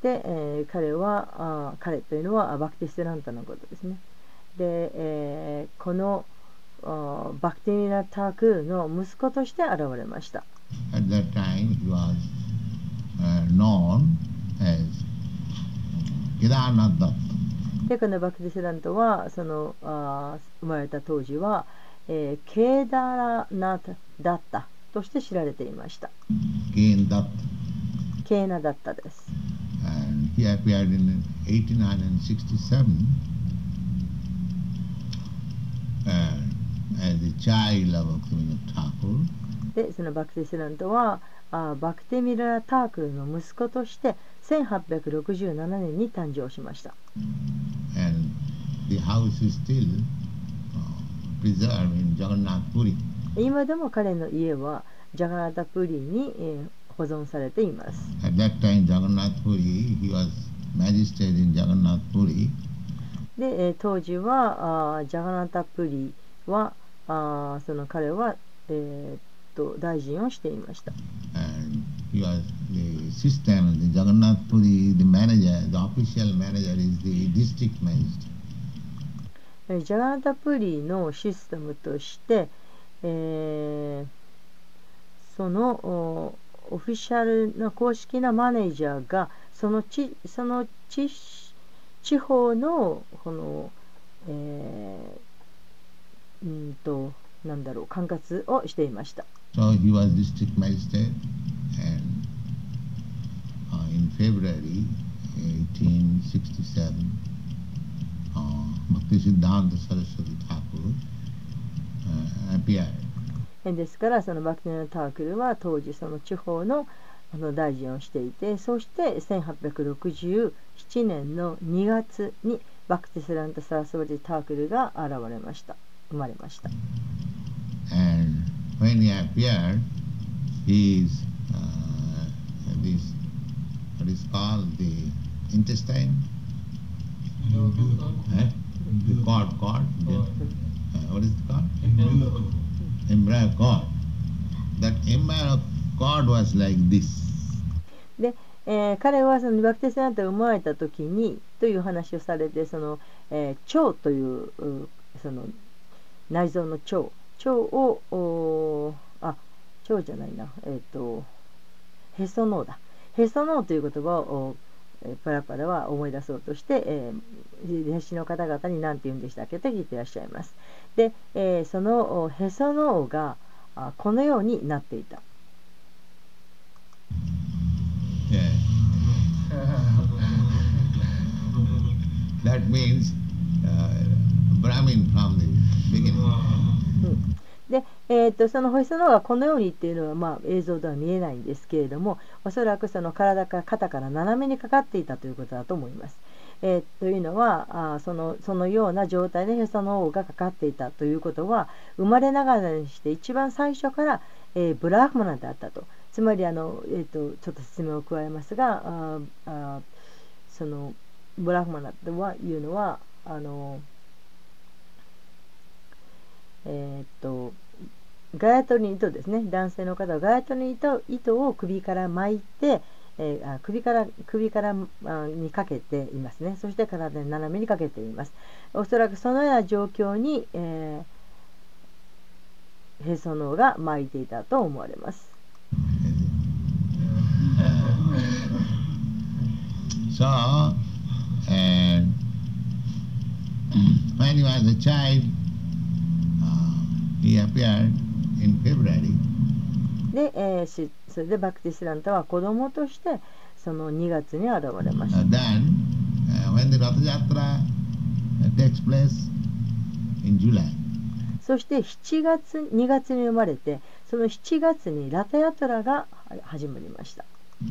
S1: 彼というのはバクティスランタのことですね。で、このバクティミラ・タークの息子として現れました。
S2: At that time he was known as Kedarnath Datta.
S1: で、このバクティスランタはその生まれた当時は、ケーダラナタダッタとして知られていました。ケーナダッタです。
S2: And he appeared in 1867 as the child of Bhaktivinoda Thakur.
S1: で、そのバクティスランタはバクティミラ・タークルの息子として1867年に誕生しました。
S2: And the house is still preserved in Jagannath Puri.
S1: 今でも彼の家はジャガナタプリに、保存されています。
S2: At that time, Jagannath Puri, he was magistrate in Jagannath Puri.
S1: で、当時はジャガナタプリはその彼は、大臣をしていました。
S2: And he was the system, the Jagannath Puri, the manager, the official manager is the district magistrate.
S1: ジャガナタプリのシステムとして、そのオフィシャルな公式なマネージャーがその地方のこの、管轄をしていました。
S2: So he was district magistrate, and in February 1867, Bhaktisiddhanta Saraswati Thakur appeared.
S1: ですからそのバクティナタークルは当時その地方の大臣をしていて、そして1867年の2月にバクティスランタ・サラスワティ・タークルが生まれました。
S2: And when he appeared, his this what is called the intestine, the cord, what is it called? Embryo cord. That embryo cord was like this.
S1: で、彼はそのバクティスランタが生まれた時にという話をされて、その腸というその内臓の腸蝶を蝶じゃないな、へその緒だ。へその緒という言葉をパラパラは思い出そうとして、弟子の方々に何て言うんでしたっけと聞いていらっしゃいます。で、そのへその緒がこのようになっていた。
S2: Yeah. That means Brahmin from the beginning.
S1: で、そのへその緒がこのようにっていうのは、映像では見えないんですけれども、おそらくその体から肩から斜めにかかっていたということだと思います。というのはそのような状態でへその緒がかかっていたということは、生まれながらにして一番最初から、ブラフマナであったと。つまりちょっと説明を加えますが、そのブラフマナというのはガヤトリの糸ですね。男性の方はガヤトリの糸を首から巻いて、首からにかけていますね。そして体に斜めにかけています。おそらくそのような状況に、へその緒が巻いていたと思われます。
S2: So, when he was a child, he appeared in February.
S1: で、それでバクティスランタは子供としてその2月に現れました。
S2: Then, when the Ratha Yatra takes place in July.
S1: そして2月に生まれて、その7月にラタヤトラが始まりました。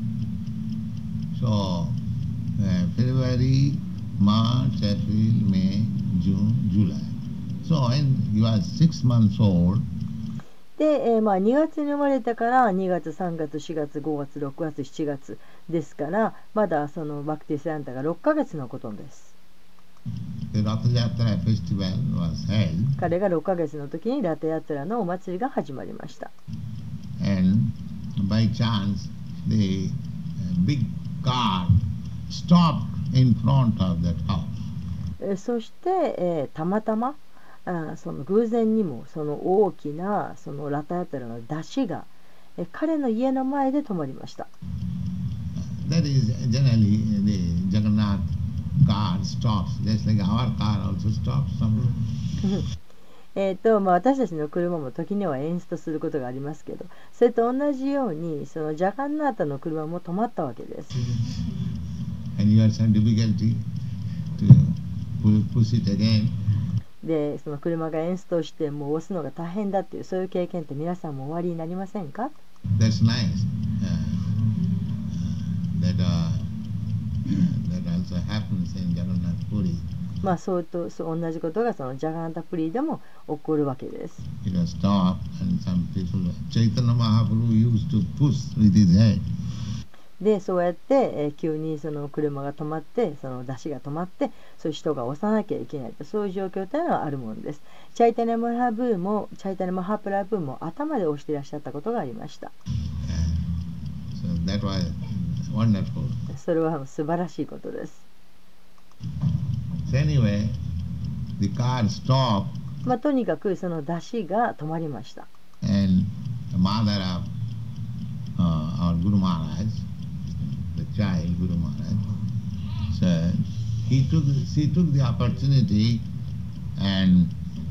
S2: So, February, March, April, May, June, July. So, when he was 6 months old,
S1: で、2月に生まれたから2月、3月、4月、5月、6月、7月ですから、まだそのバクティスランタが6ヶ月のことです。
S2: the Ratha Yatra festival was held.
S1: 彼が6ヶ月の時にラタヤトラのお祭りが始まりました。
S2: And by chance, the big car stopped in front of that house.
S1: そして、たまたまその偶然にもその大きなそのラタヤトラの出汁が彼の家の前で止まりました。
S2: That is generally the Jagannath car stops, just like our car also stops somewhere.
S1: 私たちの車も時にはエンストすることがありますけど、それと同じようにそのジャガンナータの車も止まったわけです。
S2: And you had some difficulty to push it again.
S1: で、その車がエンストしてもう押すのが大変だっていう、そういう経験って皆さんもおありになりませんか？
S2: That's nice. That also happens in Jagannath Puri.
S1: そう同じことがそのジャガンナタプリでも起こるわけです。
S2: It was stopped and some people, Chaitanya Mahaprabhu used to push with his head.
S1: で、そうやって、急にその車が止まって、その出汁が止まって、そういう人が押さなきゃいけないと、そういう状況というのはあるものです。チャイタニャマハプラブーも頭で押していらっしゃったことがありました。
S2: So that was wonderful.
S1: それは素晴らしいことです。
S2: So anyway, the car stopped.
S1: とにかくその出汁が止まりました。
S2: And the mother of our Guru Maharaj, the child Guru Maharaj, so she took the opportunity and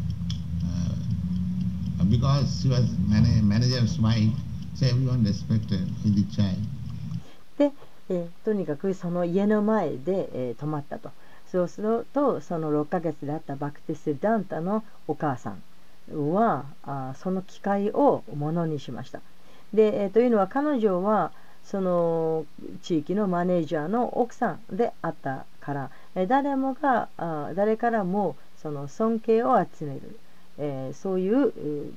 S2: because she was manager's wife, so everyone respected the child.
S1: で、とにかくその家の前で、止まったと。そうするとその6ヶ月であったバクティス・ダンタのお母さんはその機会をものにしました。で、というのは彼女はその地域のマネージャーの奥さんであったから、誰からもその尊敬を集める、そういう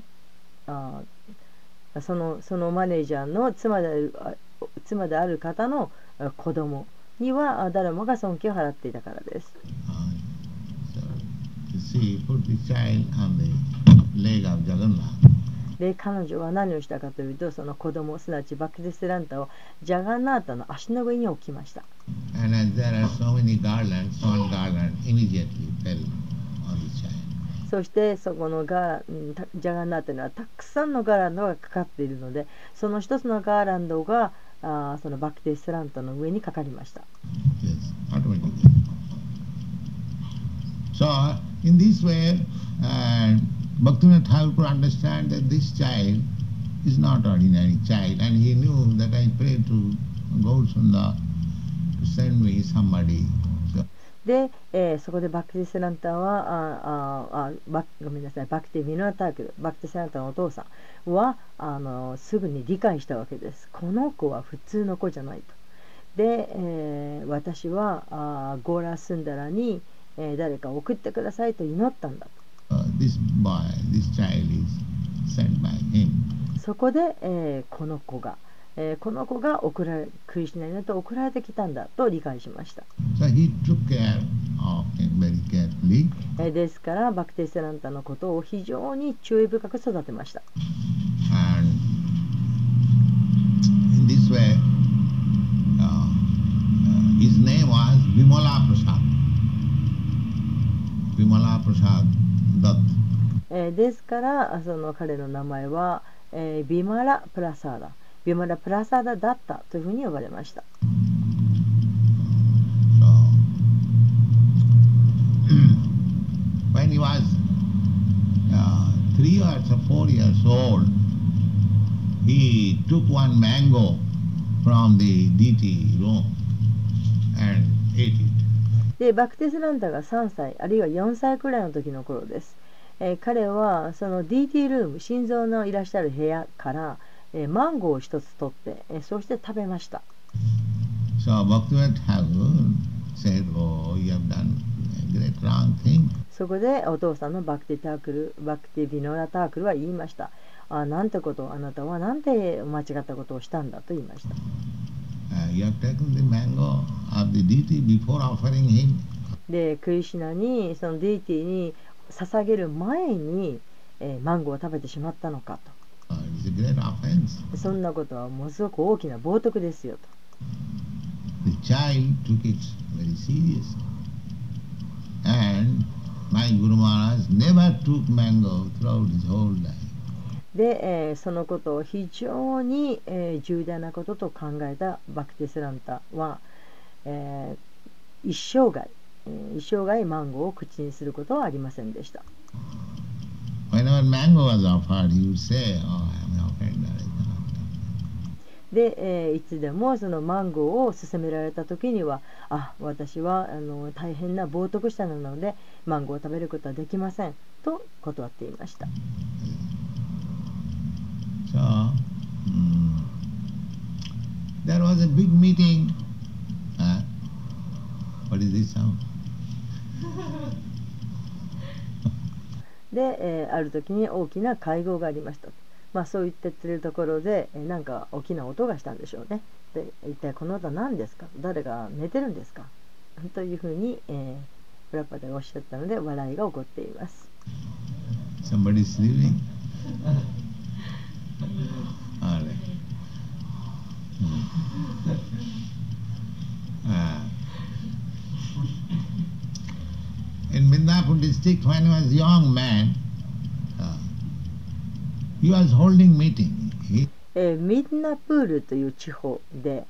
S1: そのマネージャーの妻である方の子供には誰もが尊敬を払っていたからです。で、彼女は何をしたかというと、その子供、すなわちバクティスランタをジャガンナータの足の上に置きました。 そしてそこのジャガンナーというのはたくさんのガーランドがかかっているので、その一つのガーランドがそのバクティスラントの上にかかりました。
S2: Yes, automatically. So, in this way, Bhaktivinoda Thakur could understand that this child is not ordinary child, and he knew that I prayed to Gaurasunda to send me somebody. So,
S1: で、そこでバクティスランタはごめんなさい、バクティ・ヴィノアタークル、バクティスランタのお父さんはすぐに理解したわけです。この子は普通の子じゃないと。で、私はゴーラスンダラに、誰か送ってくださいと祈ったんだと。
S2: this child is sent by him.
S1: そこで、この子がクリシュナによって送られてきたんだと理解しました。
S2: So he took care of him very carefully.
S1: ですからバクティスランタのことを非常に注意深く育てました。
S2: And in this way, his name was Vimala Prasad. Vimala Prasad Dutt.
S1: ですからその彼の名前は、ビマラ・プラサーダ、ビマラ・プラサーダだったというふうに呼ばれました。
S2: So, when he was 3 or 4 years old, he took one mango from the deity room and ate it.
S1: でバクティスランタが3歳あるいは4歳くらいの時の頃です。彼はその DT ルーム、心臓のいらっしゃる部屋から、マンゴーを一つ取って、そして食べました。
S2: So Bhaktivinoda Thakur said, "Oh, you have done a great wrong thing."
S1: そこでお父さんのバクティ・ヴィノラ・タークルは言いました。なんてことを、あなたはなんて間違ったことをしたんだと言いました。
S2: You have taken the mango of the deity before offering him.
S1: で、クリシュナにそのディーティに捧げる前に、マンゴーを食べてしまったのかと。
S2: It's a great offense.
S1: そんなことはものすごく大きな冒涜ですよと。
S2: The child took it very seriously. And my Guru Maharaj never took mango throughout his whole life.
S1: で、そのことを非常に、重大なことと考えたバクティスランタは、一生涯マンゴーを口にすることはありませんでした。
S2: Whenever mango was offered, he would say, "Oh, I am an offender, I cannot."
S1: で、いつでもそのマンゴーを勧められた時には、私は大変な冒涜者なのでマンゴーを食べることはできませんと断っていました。
S2: So, there was a big meeting. What is this sound?
S1: で、ある時に大きな会合がありました。そう言ってるところで、なんか大きな音がしたんでしょうね。で、一体この音は何ですか？誰が寝てるんですか？というふうに、プラパダがおっしゃったので笑いが起こっています。
S2: Somebody sleeping? All right. In Midnapur district, when he was a young man, he was holding meeting.
S1: ミドナプールという地方で、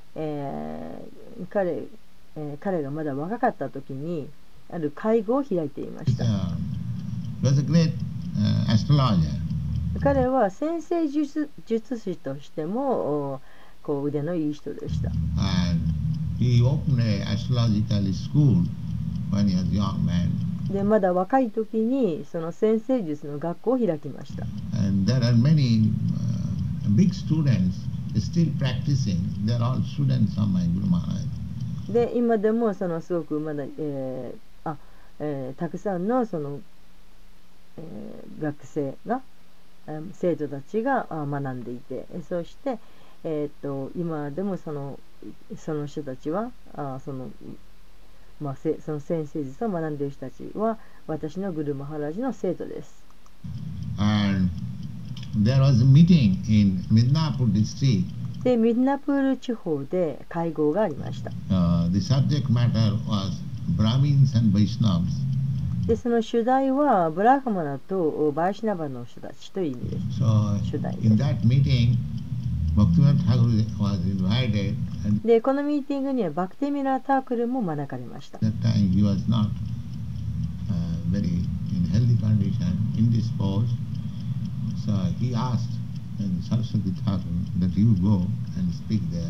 S1: 彼がまだ若かった時にある会合を開いていました。
S2: He was a great astrologer.
S1: 彼は先生術師としても腕のいい人でした。
S2: And he opened an astrological school when he was a young man.
S1: でまだ若い時にその先生術の学校を開きました。
S2: And there are many big students still practicing. They are all students of my Guru Maharaj.
S1: で今でもそのすごくまだ、たくさんのその、学生が生徒たちが学んでいて、そして、今でもその人たちはその先生術を学んでいる人たちは私のグルマハラジの生徒です。
S2: And there was a meeting in Midnapur district.
S1: でミドナプール地方で会合がありました。
S2: The subject matter was Brahmins and Vaishnavas
S1: で、その主題はブラフマナとバイシナバの人たちという意味です。
S2: So
S1: 主題
S2: in
S1: で。
S2: that meeting, Bhaktivinoda Thakur was invited, and
S1: で、このミーティングにはバクティミラー・タークルも招かれました。
S2: at that time he was not very in healthy condition, indisposed. So he asked Saraswati Thakur that you go and speak there.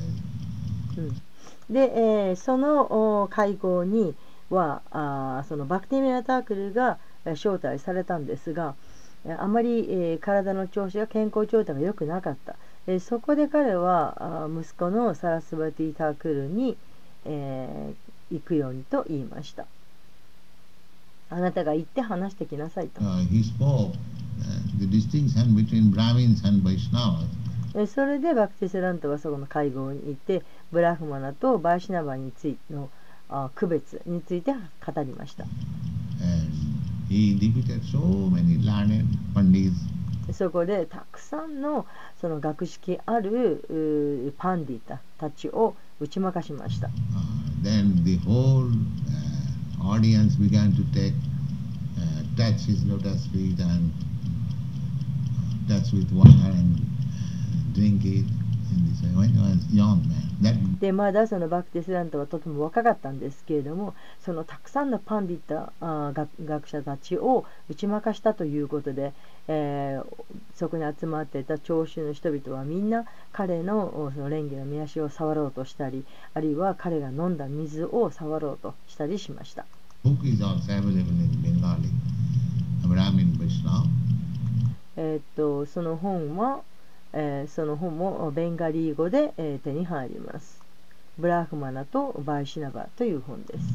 S1: で、その会合にはそのバクティミラー・タークルが招待されたんですが、あまり、体の調子が健康状態が良くなかった。そこで彼は息子のサラスバティ・タークルに、行くようにと言いました。あなたが行って話してきなさいと。
S2: He spoke the distinction between Brahmins and Vaishnavas.
S1: それでバクティセラントはそこの会合に行ってブラフマナとバイシナバについての区別について語りました。
S2: He defeated so many learned pandits.
S1: そこでたくさんのその学識あるパンディタたちを打ち負かしました。
S2: Then the whole audience began to touch his lotus feet and touch with water and drink it. When he was young man.
S1: でまだそのバクティセラントはとても若かったんですけれども、そのたくさんのパンディタ学者たちを打ち負かしたということで、そこに集まっていた聴衆の人々はみんな彼のその蓮華の御足を触ろうとしたり、あるいは彼が飲んだ水を触ろうとしたりしました。
S2: Book is also available in Bengali, Brahmin Vaishnava.
S1: その本もベンガリー語で、手に入ります。ブラフマナとバイシナバという本です。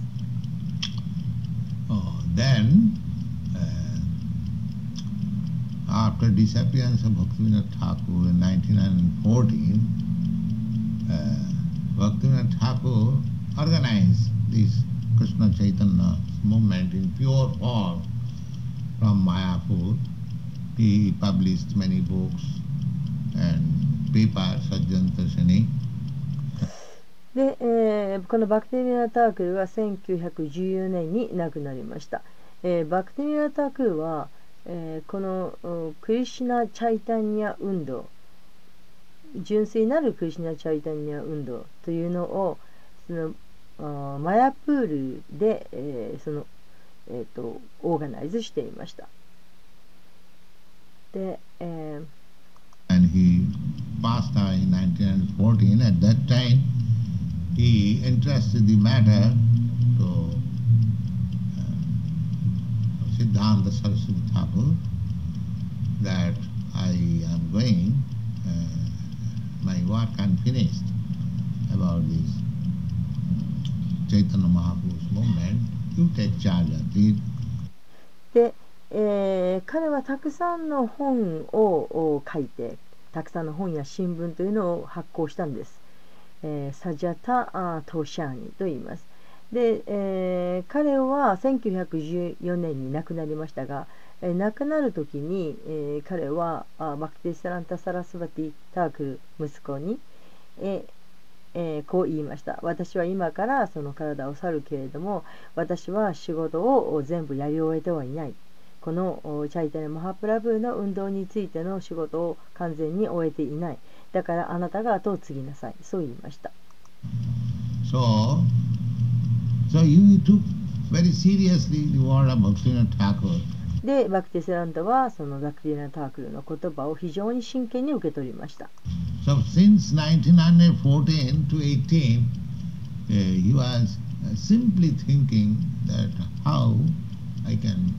S2: Then, after disappearance of Bhaktivinoda Thakur in 1914, Bhaktivinoda Thakur organized this Krishna Chaitanya movement in pure form from Mayapur. He published many books and papers, Sajjantashani.
S1: で、このバクティミラー・タークルは1914年に亡くなりました。バクティミラー・タークルは、このクリシュナ・チャイタニア運動、純粋なるクリシュナ・チャイタニア運動というのをそのマヤプールで、オーガナイズしていました。で、
S2: And he passed away in 1914. At that time, he entrusted the matter to Siddhanta Saraswati Thakur that I am going, my work unfinished about this Chaitanya Mahaprabhu's movement. You take charge of it.
S1: で彼はたくさんの本を書いて、たくさんの本や新聞というのを発行したんです。サジャタ・トシャーニと言います。で、彼は1914年に亡くなりましたが、亡くなる時に、彼はバクティサランタ・サラスバティ・タークル息子に、こう言いました。私は今からその体を去るけれども、私は仕事を全部やり終えてはいない。このチャイタニャ・マハプラブーの運動についての仕事を完全に終えていない。だからあなたが後を継ぎなさい。そう言いました。
S2: So you took very seriously the word of Bhaktivinoda Thakur.
S1: で、バクティセランタはそのバクティナ・タークルの言葉を非常に真剣に受け取りました。
S2: So since 1914 to 18, he was simply thinking that how I can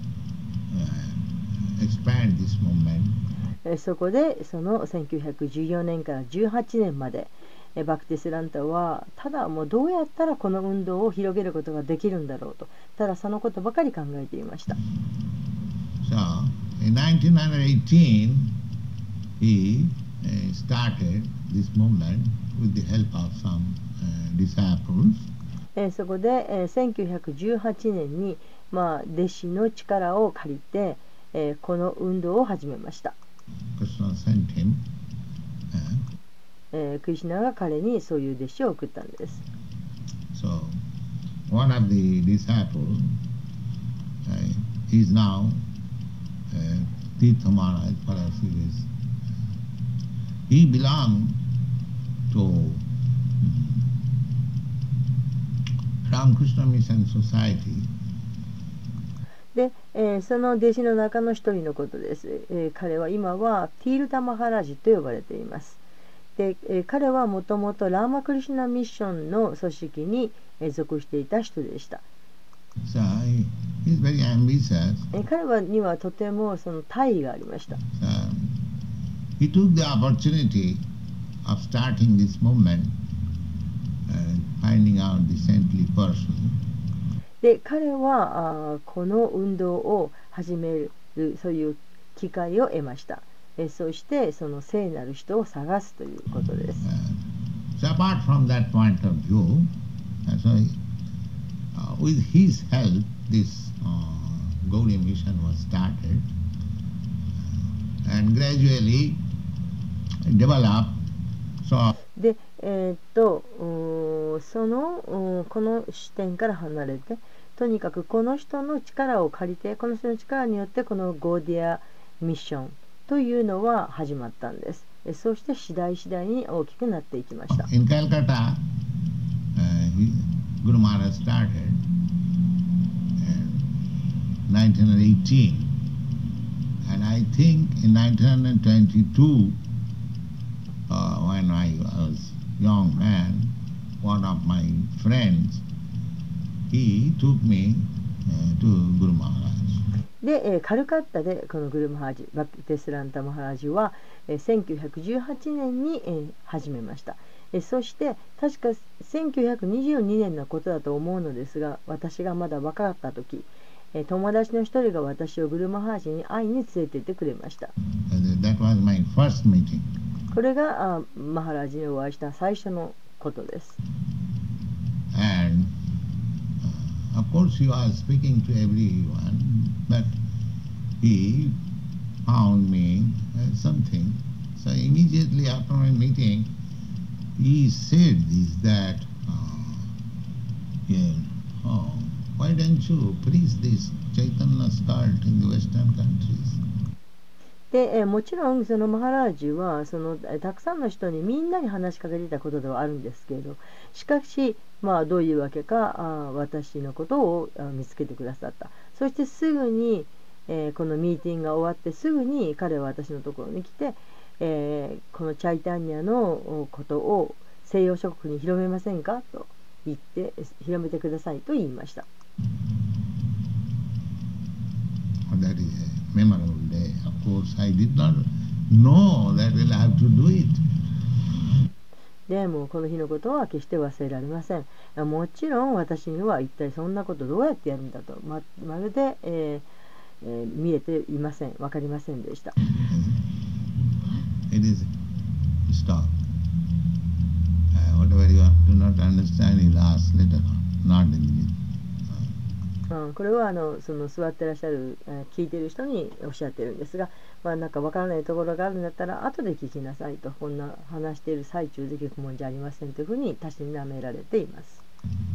S2: expand this movement.
S1: そこでその1914年から18年までバクティセランタはただもうどうやったらこの運動を広げることができるんだろうと、ただそのことばかり考えていました。
S2: So in 1918 he started this movement with the help of some disciples.
S1: そこで1918年に弟子の力を借りてこの運動を始めました。
S2: Krishna sent him.
S1: クリシュナが彼にそういう弟子を送ったんです。
S2: So one of the disciples he is now Tirtha Maharaj Parasiris. He belonged to Ramakrishna Mission Society.
S1: で、その弟子の中の一人のことです。彼は今はティールタマハラジと呼ばれています。で、彼はもともとラーマクリシュナミッションの組織に属していた人でした。
S2: So he is very ambitious.
S1: 彼にはとてもその大意がありました。
S2: So he took the opportunity of starting this movement and finding out the saintly person.
S1: で、彼はこの運動を始めるそういう機会を得ました。そしてその聖なる人を探すということです。
S2: So apart from that point of view, so with his help, this Gaudiya mission was started and gradually developed. So
S1: で、この視点から離れて、とにかくこの人の力を借りて、この人の力によってこのゴーディアミッションというのは始まったんです。そして次第に大きくなっていきました。
S2: In Calcutta, Guru Maharaj started in 1918, and I think in 1922, when I was young man, one of my friends, he took me to Guru Maharaj.
S1: で、カルカッタでこのグルマハラジ、バクテスランタマハラジは1918年に始めました。そして確か1922年のことだと思うのですが、私がまだ若かった時、友達の一人が私をグルマハラジに会いに連れて行ってくれました。
S2: That was my first meeting.
S1: これがマハラジにお会いした最初のことです。
S2: And of course he was speaking to everyone, but he found me something. So immediately after my meeting, he said this, that, why don't you preach this Chaitanya's cult in the Western countries?
S1: で、もちろんそのマハラージはたくさんの人にみんなに話しかけていたことではあるんですけれど、しかし、どういうわけか私のことを見つけてくださった。そしてすぐに、このミーティングが終わってすぐに彼は私のところに来て、このチャイタンニャのことを西洋諸国に広めませんかと言って広めてくださいと言いました。
S2: That is a memorable day. Of course, I did not know that we'll have to do it.
S1: でもこの日のことは決して忘れられません。もちろん私には一体そんなことどうやってやるんだと まるで、見えていません。分かりませんでした。
S2: It is stop. Whatever you do not understand, you'll ask later, not in the
S1: これはその座ってらっしゃる、聞いている人におっしゃってるんですが、なんかわからないところがあるんだったら後で聞きなさいと、こんな話している最中で聞くもんじゃありませんというふうにたしなめられています。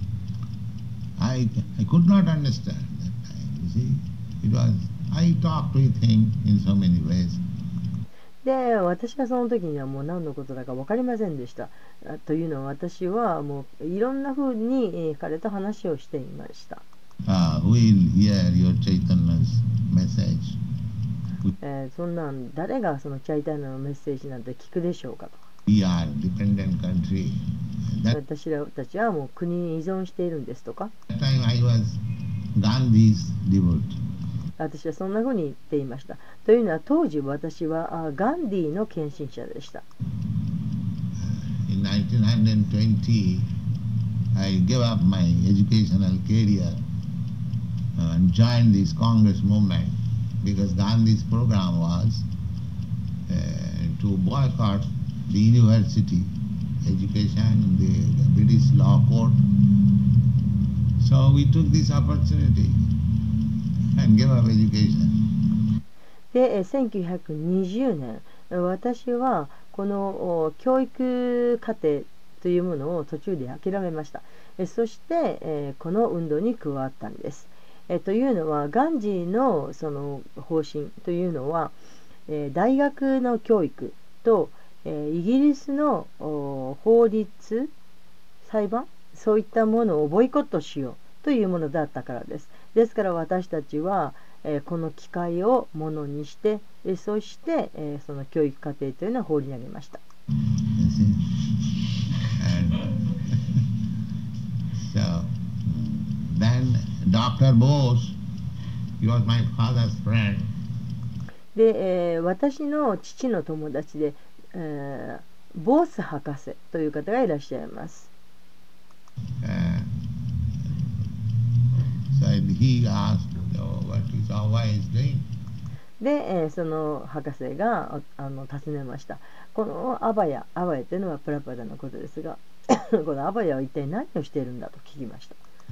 S2: I could not understand that time. You see, it was I talked with him in so many ways.
S1: で、私はその時にはもう何のことだか分かりませんでした。というのは私はもういろんなふうに彼と話をしていました。
S2: Who will hear your Chaitanya's message?
S1: そんなん誰がそのチャイタンヤのメッセージなんて聞くでしょうかと。
S2: We are dependent country.
S1: 私らたちはもう国に依存しているんですとか。
S2: That time I was Gandhi's devotee.
S1: 私はそんなふうに言っていました。というのは当時私はガンディの献身者でした。
S2: In 1920, I gave up my educational career and joined this Congress movement because Gandhi's program was to boycott the university education, the British law court. So we took this opportunity and gave up education.
S1: で、1920年、私はこの教育課程というものを途中で諦めました。そしてこの運動に加わったんです。 というのは、ガンジーのその方針というのは、大学の教育と、イギリスの法律、裁判、そういったものをボイコットしようというものだったからです。ですから私たちは、この機会をものにして、そして、その教育課程というのを放り投げました。
S2: So, then Dr. Bose, he was my father's friend.
S1: で、私の父の友達で、ボース博士という方がいらっしゃいます。
S2: So he asked, what is Ava is doing?
S1: で、その博士が尋ねました。このアバヤというのはプラパダのことですが、このアバヤは一体何をしているんだと聞きました。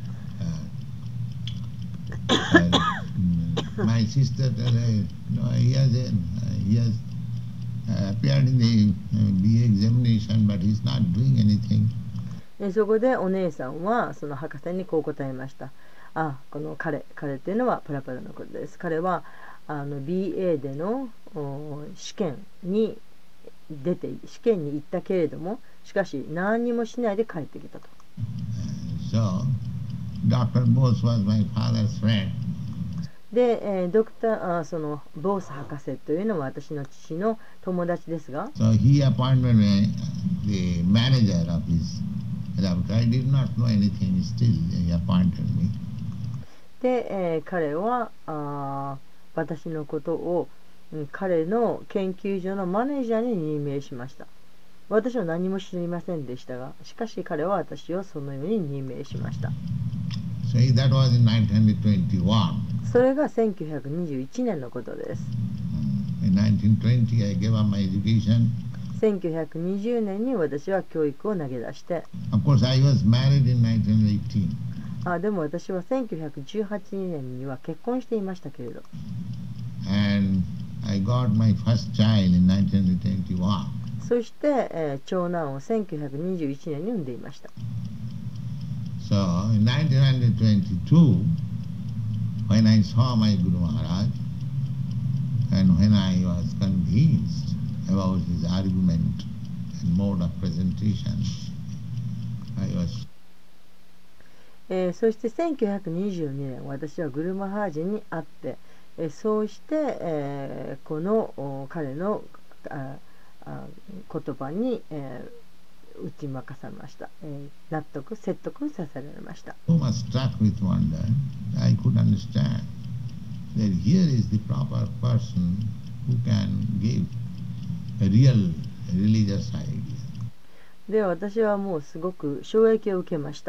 S2: My sister, he has appeared in the BA examination, but he's not doing anything.
S1: そこでお姉さんはその博士にこう答えました。この彼というのはプラパダのことです。彼はBA での試験に行ったけれども、しかし何にもしないで帰ってきたと。
S2: So, Dr. Bose was my father's friend.
S1: で、そのボース博士というのは私の父の友達ですが、
S2: So he appointed me the manager of his laboratory. I did not know anything, still he appointed me.
S1: で、彼は私のことを彼の研究所のマネージャーに任命しました。私は何も知りませんでしたが、しかし彼は私をそのように任命しました。
S2: So that was in 1921.
S1: それが1921年のことです。
S2: In 1920 I gave up my education.
S1: 1920年に私は教育を投げ出して、
S2: Of course I was married in 1918.
S1: でも私は1918年には結婚していましたけれど。
S2: And I got my first child in 1921.
S1: そして、長男を1921年に産んでいました。
S2: So in 1922, when I saw my Guru Maharaj, and when I was convinced about his argument and mode of presentation, I was
S1: そして1922年、私はグルマハージに会って、そうして、この彼の言葉に、打ち負かされました。説得させられました。
S2: so much struck with wonder. I could understand that here is the proper person who can give a real religious idea.
S1: で、私はもうすごく衝撃を受けました。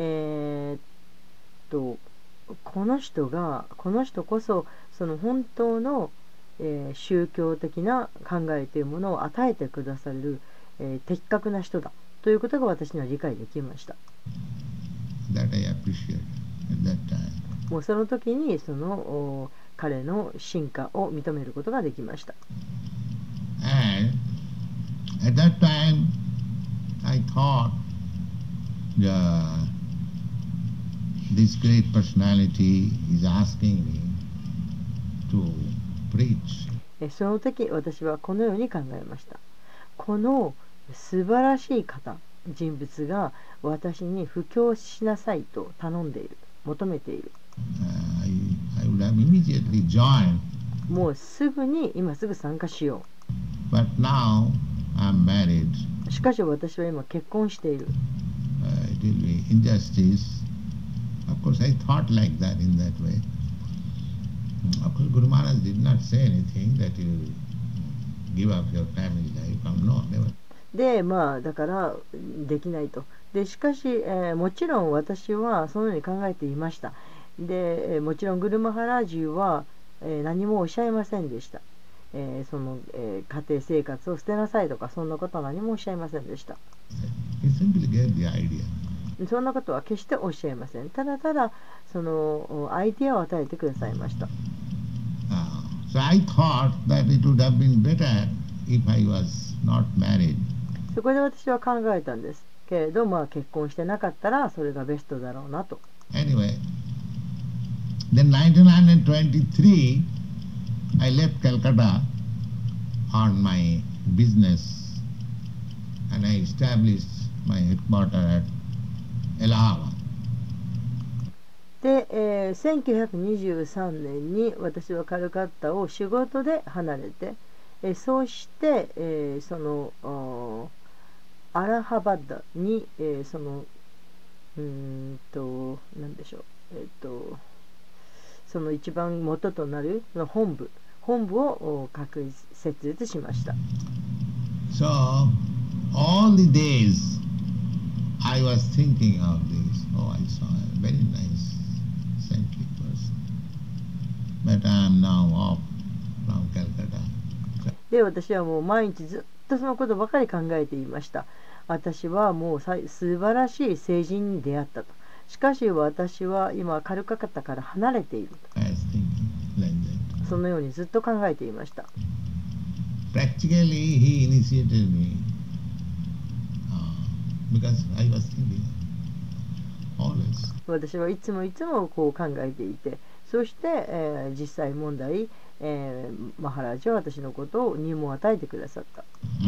S1: この人こそその本当の、宗教的な考えというものを与えてくださる、的確な人だということが私には理解できました。
S2: That I appreciate at that time.
S1: もうその時にその彼の進化を認めることができました。
S2: And at that time I thought this great personality is asking me to preach.
S1: その時私はこのように考えました。この素晴らしい人物が私に布教しなさいと頼んでいる、求めている。
S2: I would have immediately joined.
S1: もう今すぐ参加しよ
S2: う。But now I'm married.
S1: しかし私は今結婚している。
S2: It will be injustice. Of course, I thought like that in that way. Of course, Guru Maharaj did not say anything that you give up your family life. No, never.
S1: で、だからできないと。で、しかし、もちろん私はそのように考えていました。で、もちろんグルマハラージュは、何もおっしゃいませんでした。その、家庭生活を捨てなさいとか、そんなことは何もおっしゃいませんでした。
S2: He simply gave the idea.
S1: そんなことは決しておっしゃいません。ただただそのアイデアを与えてくださいました。
S2: So I thought that it would have been better if I was not married.
S1: そこで私は考えたんですけれど、結婚してなかったらそれがベストだろうなと。
S2: Anyway, Then 1923, I left Calcutta on my business and I established my headquarters at Allahabad.
S1: で、1923年に私はカルカッタを仕事で離れて、そうして、そのアラハバッダに、その何でしょう、その一番元となる本部を設立しました。
S2: So all the days I was thinking of this. Oh, I saw a very nice saintly person, but I am now off from Calcutta.
S1: で、私はもう毎日ずっとそのことばかり考えていました。私はもう素晴らしい聖人に出会ったと。しかし私は今カルカッタから離れていると。そのようにずっと考えていました。
S2: Practically, he initiated me because I was thinking always.
S1: 私はいつもこう考えていて、そして、実際問題、マハラジは私のことを入門を与えてくださった。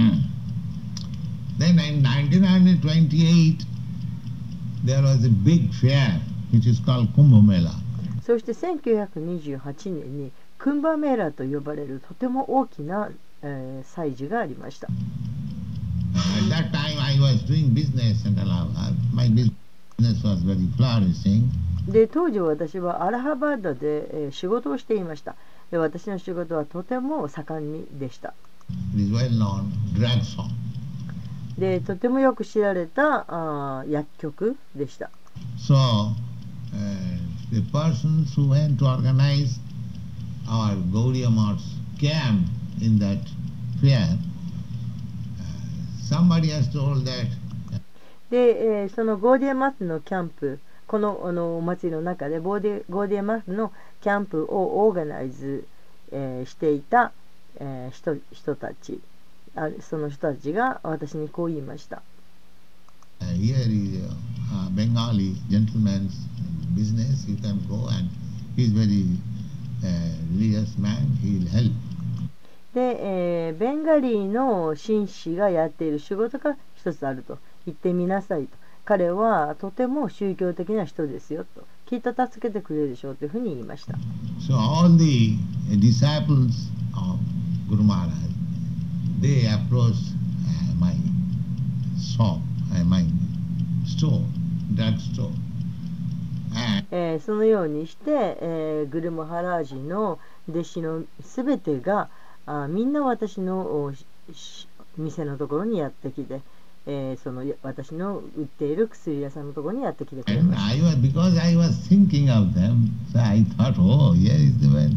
S2: Then in 1928, there was a big fair which is called Kumbh Mela.
S1: そして1928年にクンバメーラと呼ばれるとても大きな、祭事がありました。
S2: At that time I was doing business in Allahabad. My business was very flourishing.
S1: で、当時私はアラハバードで、仕事をしていました。で、私の仕事はとても盛んでした。
S2: It is well known drug song.
S1: で、とてもよく知られた薬局でした。
S2: So, the persons who went to organize our Gaudiya Math's camp in that fair, somebody has told that.
S1: で、そのゴーディアマスのキャンプ、このお祭りの中でゴーディアマスのキャンプをオーガナイズ、していた、人たち、その人たちが私にこう言いました。
S2: Here is a Bengali gentleman's business. You can go and he is very religious man. He will help.
S1: で、ベンガリーの紳士がやっている仕事が一つあると言ってみなさいと。彼はとても宗教的な人ですよと。きっと助けてくれるでしょうというふうに言いました。
S2: So all the disciples of Guru Maharaj, they approached my shop, my store, drug store.
S1: そのようにして、グルマハラージの弟子のすべてがみんな私の店のところにやってきて、その私の売っている薬屋さんのところにやってきてくれました。
S2: Because I was thinking of them, so I thought, oh, here is the man.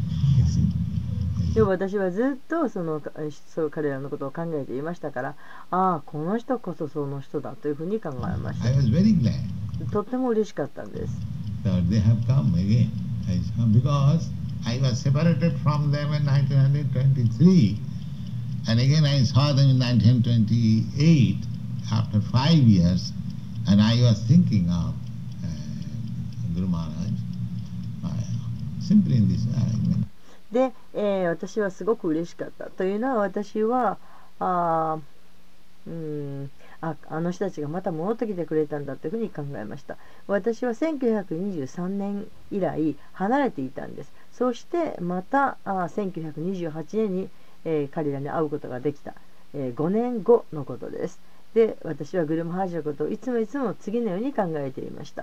S1: でも私はずっとそう彼らのことを考えていましたから、この人こそその人だというふうに考えました。
S2: I was very glad.
S1: とっても嬉しかったんです。
S2: That they have come again. Because I was separated from them in 1923, and again I saw them in 1928 after 5 years, and I was thinking of Guru Maharaj simply in this way.
S1: で、私はすごく嬉しかったというのは、私はあの人たちがまた戻ってきてくれたんだというふうに考えました。私は1923年以来離れていたんです。そしてまた1928年に、彼らに会うことができた、5年後のことです。で、私はグルマハージのことをいつも次のように考えていました。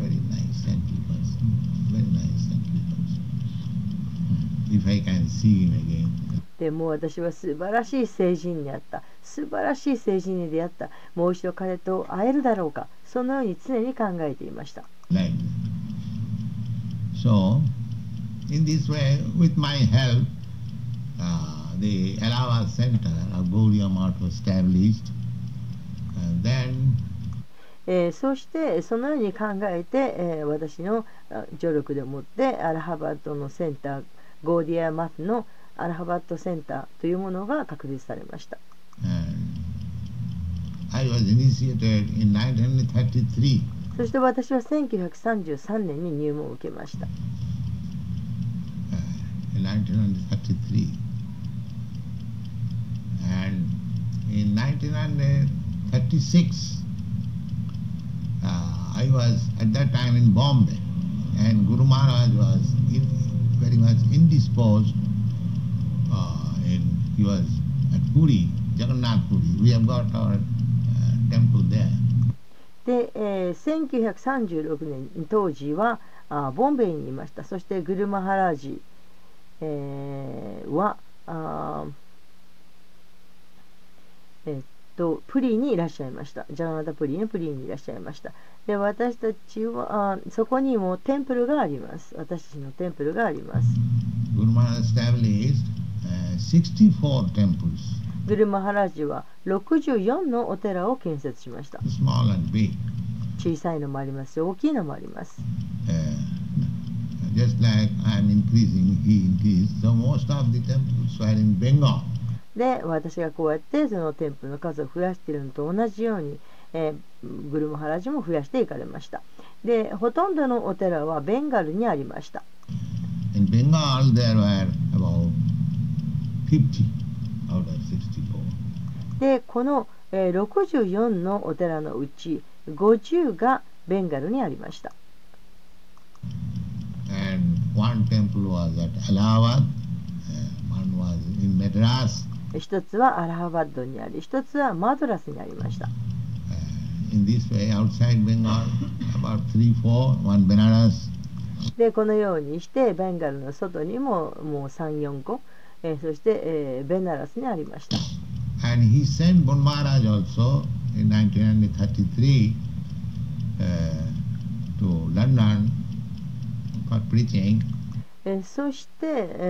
S1: でも私は素晴らしい聖人に会った。素晴らしい聖人に出会った。もう一度彼と会えるだろうか。そのように常に考えていました。
S2: So, in this way, with my help, the Allahabad Center of Gaudiya Math was established. Then,
S1: そしてそのように考えて、私の助力でもってアラハバッドのセンター、ゴーディアマフのアラハバッドセンターというものが確立されました。
S2: I was initiated in 1933.
S1: そして私は1933年に入門を受けました。
S2: In 1933. And in 1936, I was at that time in Bombay, and Guru Maharaj was very much indisposed. He was at Puri, Jagannath Puri. We have got our temple there.
S1: で、1936年当時はボンベイにいました。そしてグルマハラージ、はプリにいらっしゃいました。ジャガナタプリのプリにいらっしゃいました。で、私たちはそこにもテンプルがあります。私たちのテンプルがあります。
S2: Guru Maharaj established 64 temples.
S1: グルマハラージは64のお寺を建設しました。
S2: Small and big.
S1: 小さいのもありますし、大きいのもあります。
S2: Just like I am increasing, he increased. So most of the temples were in Bengal.
S1: で、私がこうやってその店舗の数を増やしているのと同じように、グルマハラジも増やしていかれました。で、ほとんどのお寺はベンガルにありました。
S2: In Bengal there were about 50 out of 64.
S1: で、この、64のお寺のうち50がベンガルにありました。
S2: And one temple was at Allahabad, one was in Madras.
S1: 一つはアラハバッドにあり、一つはマドラスにありました。
S2: In this way, outside Bengal, about 3, 4, one Benares.
S1: で、このようにしてベンガルの外にももう3、4個、そして、ベナラスにありました。
S2: And he sent Bon Maharaj also in 1933 to London for preaching.
S1: そして、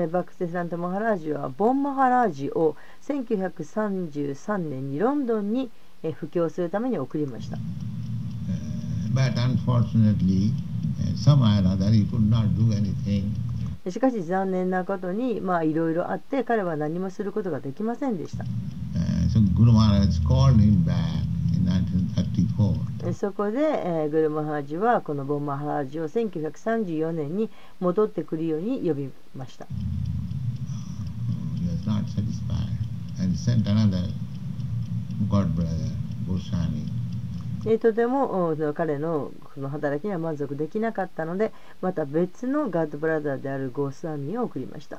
S1: バクテサンタ・マハラージはボン・マハラージを1933年にロンドンに布教するために送りました。
S2: But unfortunately, somehow or other he could not do anything.
S1: しかし残念なことにいろいろあって彼は何もすることができませんでした。
S2: So Guru Maharaj called him back in 1934.
S1: そこで、グルマハラジはこのボンマハラジを1934年に戻ってくるように呼びました。
S2: He was not satisfied and sent another god brother, Goswami.
S1: とても彼のこの働きには満足できなかったので、また別のガッドブラザーであるゴースワミを送りました。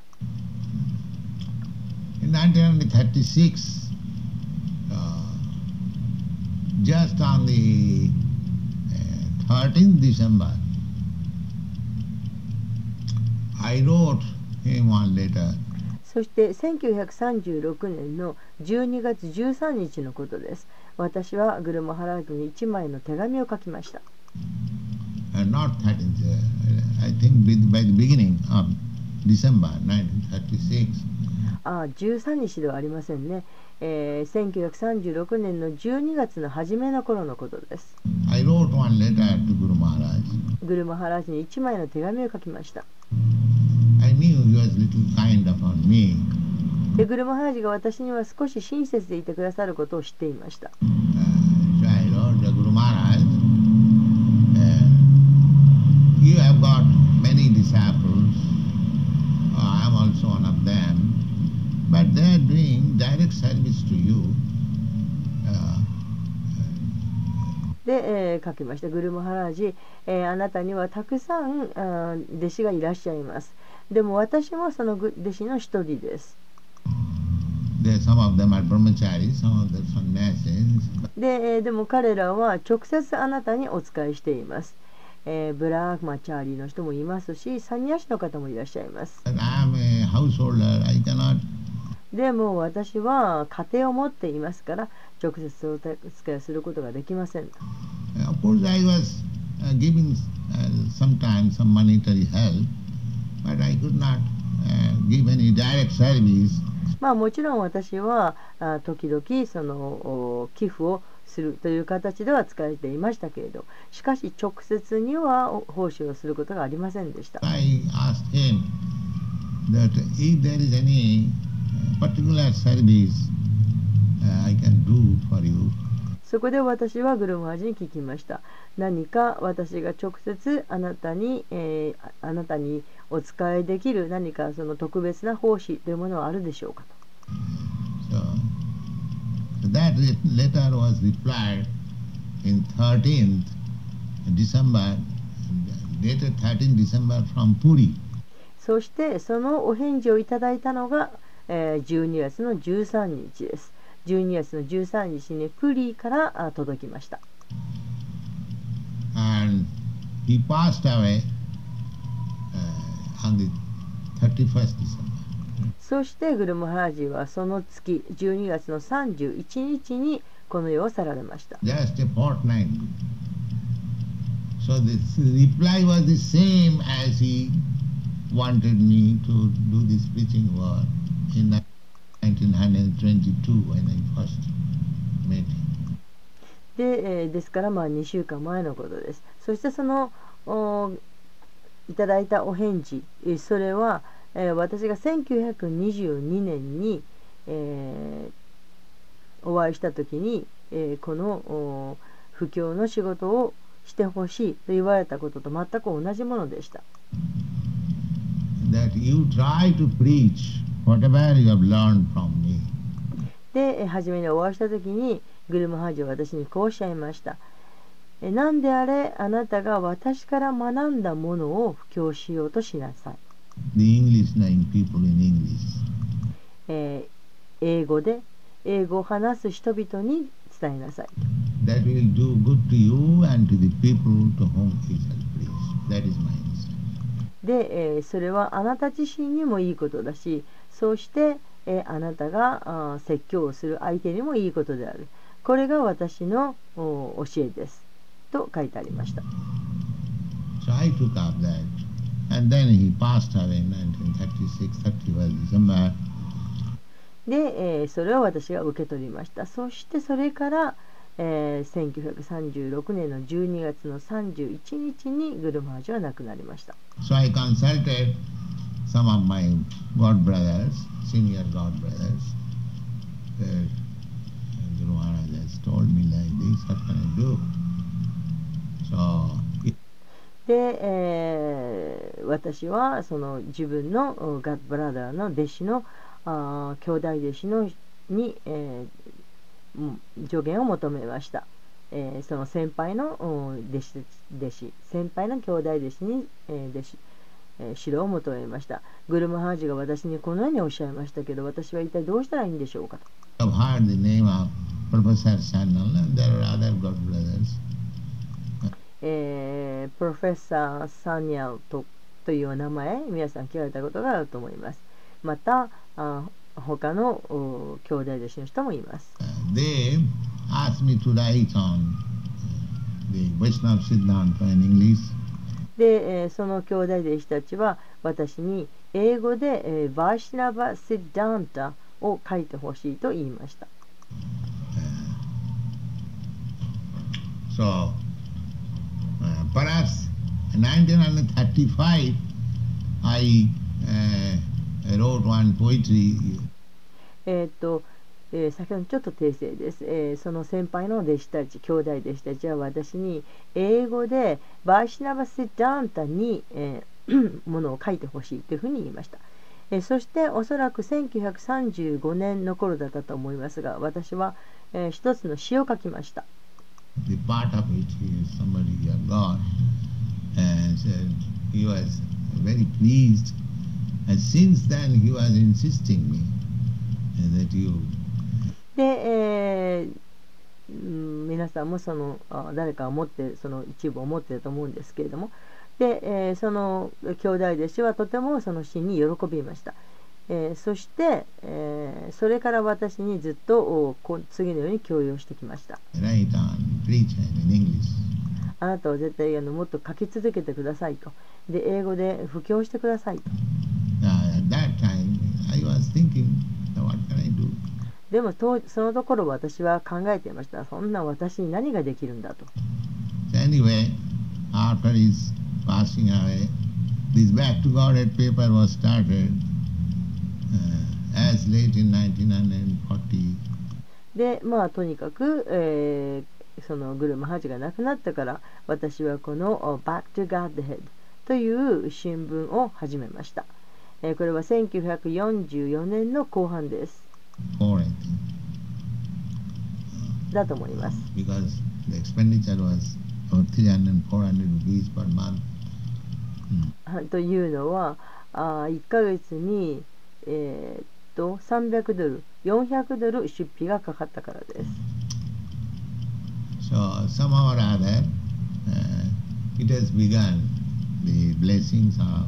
S2: In 1936, just on the 13th December, I wrote him one letter.
S1: そして1936年の12月13日のことです。私はグルマハラージに1枚の手紙を書きました。
S2: Not 13th, I think by the beginning of December 1936.
S1: 13日ではありませんね。1936年の12月の初めの頃のことです。
S2: I wrote one letter to Guru Maharaj.
S1: グルマハラージに1枚の手紙を書きました。
S2: I knew he was little kind upon me.
S1: で、グルマハラージが私には少し親切でいてくださることを知っていました。
S2: So I wrote to Guru Maharaj, you have got many disciples, I am also one of them, but they are doing direct service to you.
S1: で、書きました。グルマハラージ、あなたにはたくさん弟子がいらっしゃいます。でも私もその弟子の一人です。
S2: Some of them are brahmacharis, some of them sannyasis.
S1: でも彼らは直接あなたにお仕えしています。ブラーマチャーリーの人もいますし、サニヤシの方もいらっしゃいます。
S2: I am a householder, I cannot.
S1: でも私は家庭を持っていますから直接お使いすることができません。
S2: Of course, I was giving sometimes some monetary help, but I could not give any direct service.
S1: もちろん私は時々その寄付をするという形では使えていましたけれど、しかし直接には奉仕をすることがありませんでした。
S2: I asked him that if there is any particular service I can do for you.
S1: そこで私はグルムハージに聞きました。何か私が直接あなたにお使いできる何かその特別な奉仕というものはあるでしょうかと。
S2: So that letter was replied in 13th December, dated 13th December from Puri.
S1: そしてそのお返事をいただいたのが、12月の13日です。12月の13日にプリから届きました。
S2: And he passed away on the 31st December.
S1: そしてグルムハージはその月12月の31日にこの世を去られました。
S2: Just a fortnight. So the reply was the same as he wanted me to do this preaching work in 1922 when I first met him.
S1: ですから2週間前のことです。そしてそのいただいたお返事、それは、私が1922年に、お会いした時に、この布教の仕事をしてほしいと言われたことと全く同じものでした。
S2: That you try to preach whatever you have learned from me.
S1: で、初めにお会いした時にグルムハージは私にこうおっしゃいました。何であれあなたが私から学んだものを布教しようとしなさい。
S2: The English knowing people in English.
S1: 英語を話す人々に伝えなさい。
S2: That will do good to you and to the people to whom he shall preach. That is my instruction.
S1: で、それはあなた自身にもいいことだし、そうして、あなたが説教をする相手にもいいことである。これが私の教えです。と書いてありました。
S2: So I took up that. And then he passed away in 1936, 31 December.
S1: で、それを私が受け取りました。そしてそれから、1936年の12月の31日にグルムハージは亡くなりました。
S2: So I consulted some of my God brothers, senior God brothers. Guru Maharaj has told me like this, what can I do? So,
S1: で、私はその自分のガッドブラザーの弟子の兄弟弟子のに、助言を求めました。その先輩の先輩の兄弟弟子に、指導を求めました。グルムハージが私にこのようにおっしゃいましたけど、私は一体どうしたらいいんでしょうかと。
S2: I've heard the name of Professor Sanyal and there are other God brothers.
S1: プロフェッサー・サニャルという名前、皆さん聞かれたことがあると思います。また、他の兄弟弟子の人もいます。
S2: They asked me to write on the Vaishnava Siddhanta in English.
S1: で、その兄弟弟子たちは私に英語で、バーシナバ・シッダンタを書いてほしいと言いました。
S2: Perhaps in 1935 I wrote one poetry.
S1: 先ほどちょっと訂正です。その先輩の弟子たち、兄弟弟子たちは私に英語でバーシナバ・シッダンタに、ものを書いてほしいというふうに言いました。そしておそらく1935年の頃だったと思いますが、私は、一つの詩を書きました。
S2: The part of it is somebody got and said he was very pleased, and since then he was insisting me that you.
S1: で、皆さんもその誰かを持ってその一部を持っていると思うんですけれども、で、その兄弟弟子はとてもその詩に喜びました。そして、それから私にずっと次のように強要してきました。あなたは絶対もっと書き続けてくださいと。で、英語で布教してくださいと。でもそのところ私は考えていました。そんな私に何ができるんだと。
S2: Anyway, after his passing away, this Back to Godhead paper was started.As late in 1940.
S1: で、とにかく、 そのグルマハジが亡くなったから、私はこの Back to Godhead という新聞を始めました。これは1944年の後半です。
S2: for I think.
S1: だと思います。
S2: Because the expenditure was about 300 400 rupees per month.
S1: というのは、1ヶ月に、300ドル、400ドル出費がかかったからです。
S2: So somehow or other, it has begun the blessings of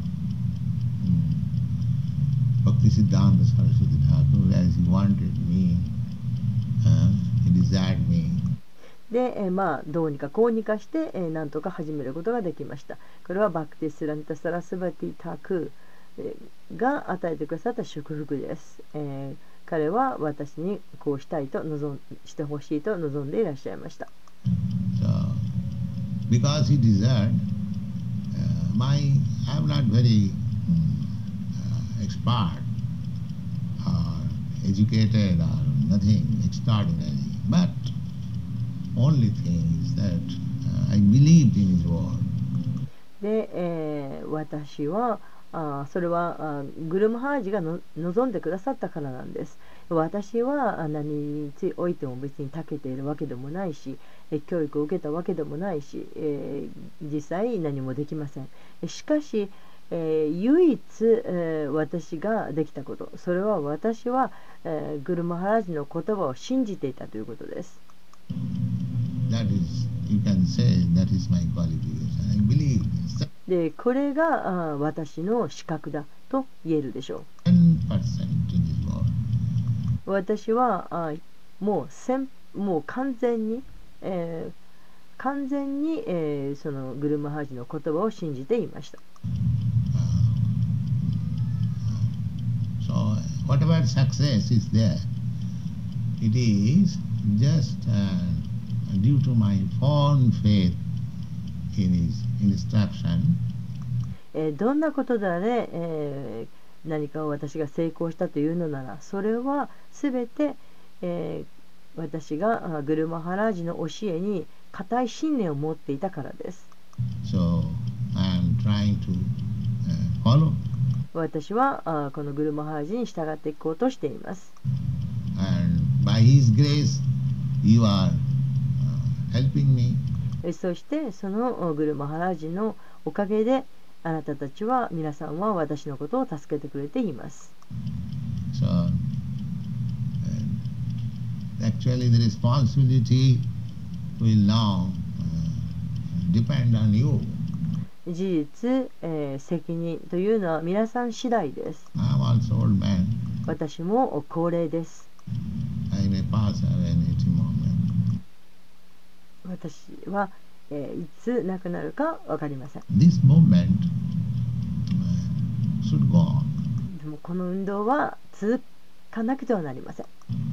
S2: Bhaktisiddhanta Saraswati Thakur as he wanted me, he desired me.
S1: で、どうにかこうにかして、なんとか始めることができました。これはバクティスランタ・サラスバティ・タクが与えてくださった祝福です。彼は私にこうしたいとしてほしいと望んでいらっしゃいました。
S2: So, because he desired, I'm not very expert or educated or nothing extraordinary, but only thing is that I believed in his word.
S1: で、私はそれはグルムハージが望んでくださったからなんです。私は何においても別に長けているわけでもないし、教育を受けたわけでもないし、実際何もできません。しかし、唯一、私ができたこと、それは私は、グルムハージの言葉を信じていたということです。
S2: That is, you can say, that is my qualification. I believe this.
S1: で、これが私の資格だと言えるでしょう。
S2: 10% in his word.
S1: 私はもう完全に、そのグルムハージの言葉を信じていました。
S2: So, whatever success is there, it is just due to my firm faith in his instruction.
S1: どんなことであれ、何かを私が成功したというのなら、それはすべて、私がグルマハラージの教えに固い信念を持っていたからです。
S2: So, I am trying to follow.
S1: 私はこのグルマハラージに従っていこうとしています。
S2: And by his grace, you are helping me.
S1: そしてそのグルマハラージのおかげであなたたちは皆さんは私のことを助けてくれています。
S2: So, actually the responsibility will now depend on you.
S1: 事実、責任というのは皆さん次第です。
S2: I am also old man.
S1: 私も高齢です。
S2: I may pass away in any moment.
S1: 私は、いつ亡くなるか分かりません。
S2: This movement should go on.
S1: でもこの運動は続かなくてはなりません。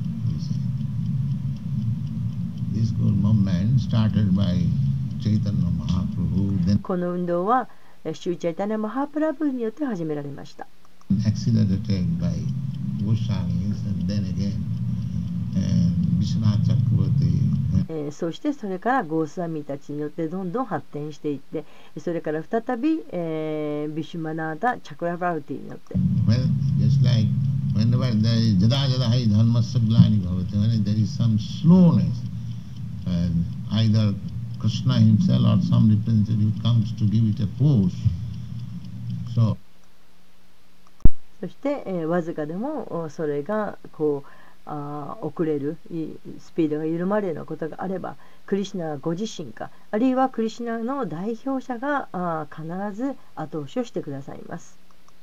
S2: This movement started by Chaitanya Mahaprabhu, then
S1: この運動はシューチャイタニャマハープラブによって始められました。
S2: accelerated by Goswamis, and then again Vishwanath Chakravarti.
S1: そしてそれからゴースワミたちによってどんどん発展していって、それから再び、ビシュマナータ・チャクラバルティによって、
S2: Well, just like whenever there is jada jada hai dharmasya glani bhavati, when there is some slowness, either Krishna himself or some representative comes to give it a push. So,
S1: そして、わずかでもそれがこう遅れるスピードが緩まれるようなことがあれば、クリシュナご自身か、あるいはクリシュナの代表者が必ず後押しをしてくださいます。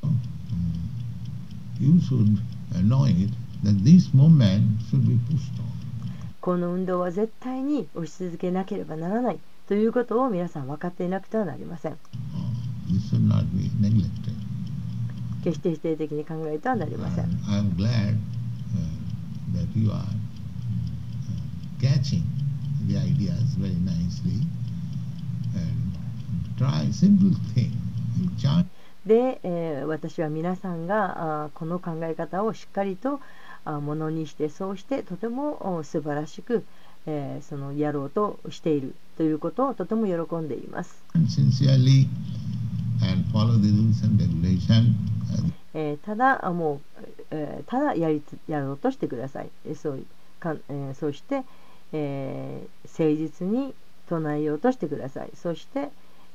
S2: you should know it that this movement should be pushed on.
S1: この運動は絶対に押し続けなければならないということを皆さん分かっていなくてはなりません。
S2: This should not be neglected.
S1: 決して否定的に考えてはなりません。
S2: I am glad that you are catching the ideas very nicely and try simple thing. Chant.
S1: で、私は皆さんがこの考え方をしっかりとものにして、そうしてとても素晴らしく、 そのやろうとしているということをとても喜んでいます。
S2: Sincerely and follow the rules and regulation.
S1: ただもう、ただやろうとしてください。そして、誠実に唱えようとしてください。そして、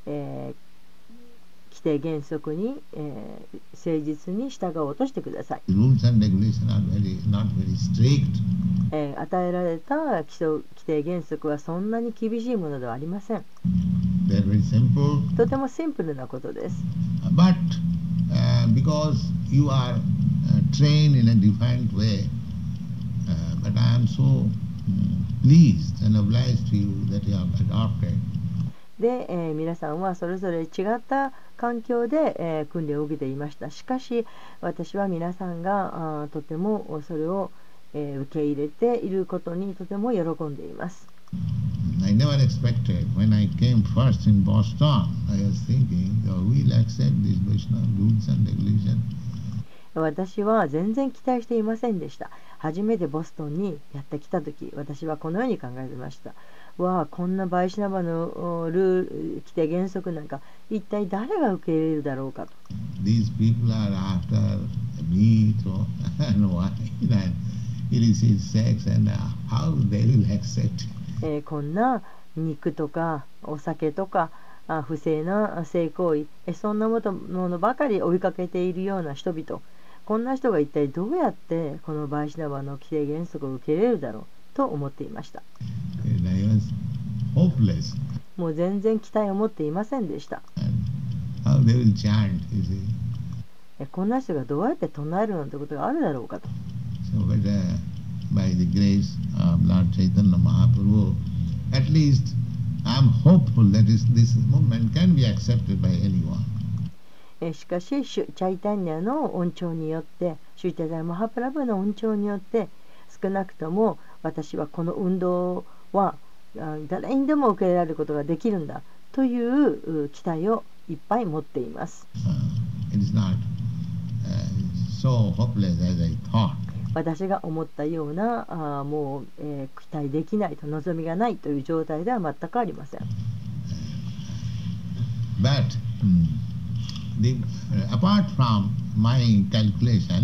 S1: 規定原則に、誠実に従おうとしてください。
S2: Rules and regulations are not very strict.
S1: 与えられた規定原則はそんなに厳しいものではありません。
S2: They are very simple.
S1: とてもシンプルなことです。
S2: But because you are trained in a different way, but I am so pleased and obliged to you that you have adopted.
S1: で、皆さんはそれぞれ違った環境で、訓練を受けていました。しかし私は皆さんがとてもそれを、受け入れていることにとても喜んでいます。
S2: I never expected when I came first in Boston, I was thinking, oh, we'll accept these Vaishnava rules and regulations.
S1: 私は全然期待していませんでした。初めてボストンにやってきたとき、私はこのように考えていました。わあ、こんなバイシナバのルール、規定原則なんか、一体誰が受け入れるだろうかと。
S2: These people are after meat and wine and illicit sex, and how they will accept it.
S1: こんな肉とかお酒とか不正な性行為、そんなものばかり追いかけているような人々、こんな人が一体どうやってこのバイシナバの規定原則を受け入れるだろうと思っていました。
S2: I was hopeless.
S1: もう全然期待を持っていませんでした。
S2: How they will chant, you see.
S1: こんな人がどうやって唱えるなんてことがあるだろうかと。
S2: So, but by the grace of Lord Chaitanya Mahaprabhu, at least I am hopeful that this movement can be accepted by anyone.
S1: しかし、チャイタンニャの恩寵によって、シュチャダイマハプラブの恩寵によって、少なくとも私はこの運動は誰にでも受け入れられることができるんだという期待をいっぱい持っています。
S2: It is not so hopeless as I thought.
S1: 私が思ったようなもう、期待できないと望みがないという状態では全くありません。
S2: But apart from my calculation,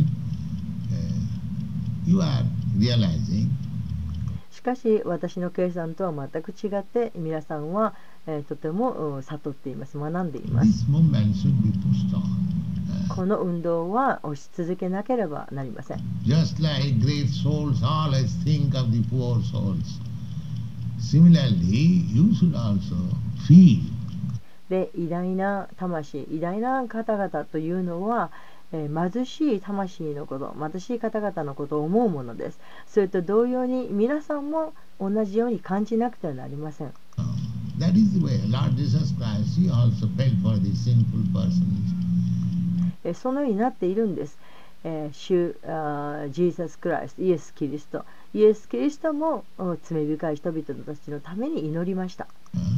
S2: you are realizing.
S1: しかし私の計算とは全く違って皆さんは、とても悟っています。学んでいます。この運動は押し続けなければなりません。
S2: Just like great souls always think of the poor souls. Similarly, you should also feel.
S1: で、偉大な魂、偉大な方々というのは、貧しい魂のこと、貧しい方々のことを思うものです。それと同様に皆さんも同じように感じなくてはなりません。
S2: That is the way Lord Jesus Christ, he also felt for the sinful persons.
S1: そのようになっているんです。主ジーザス・クライスト、イエス・キリスト。イエス・キリストも罪深い人々たちのために祈りました。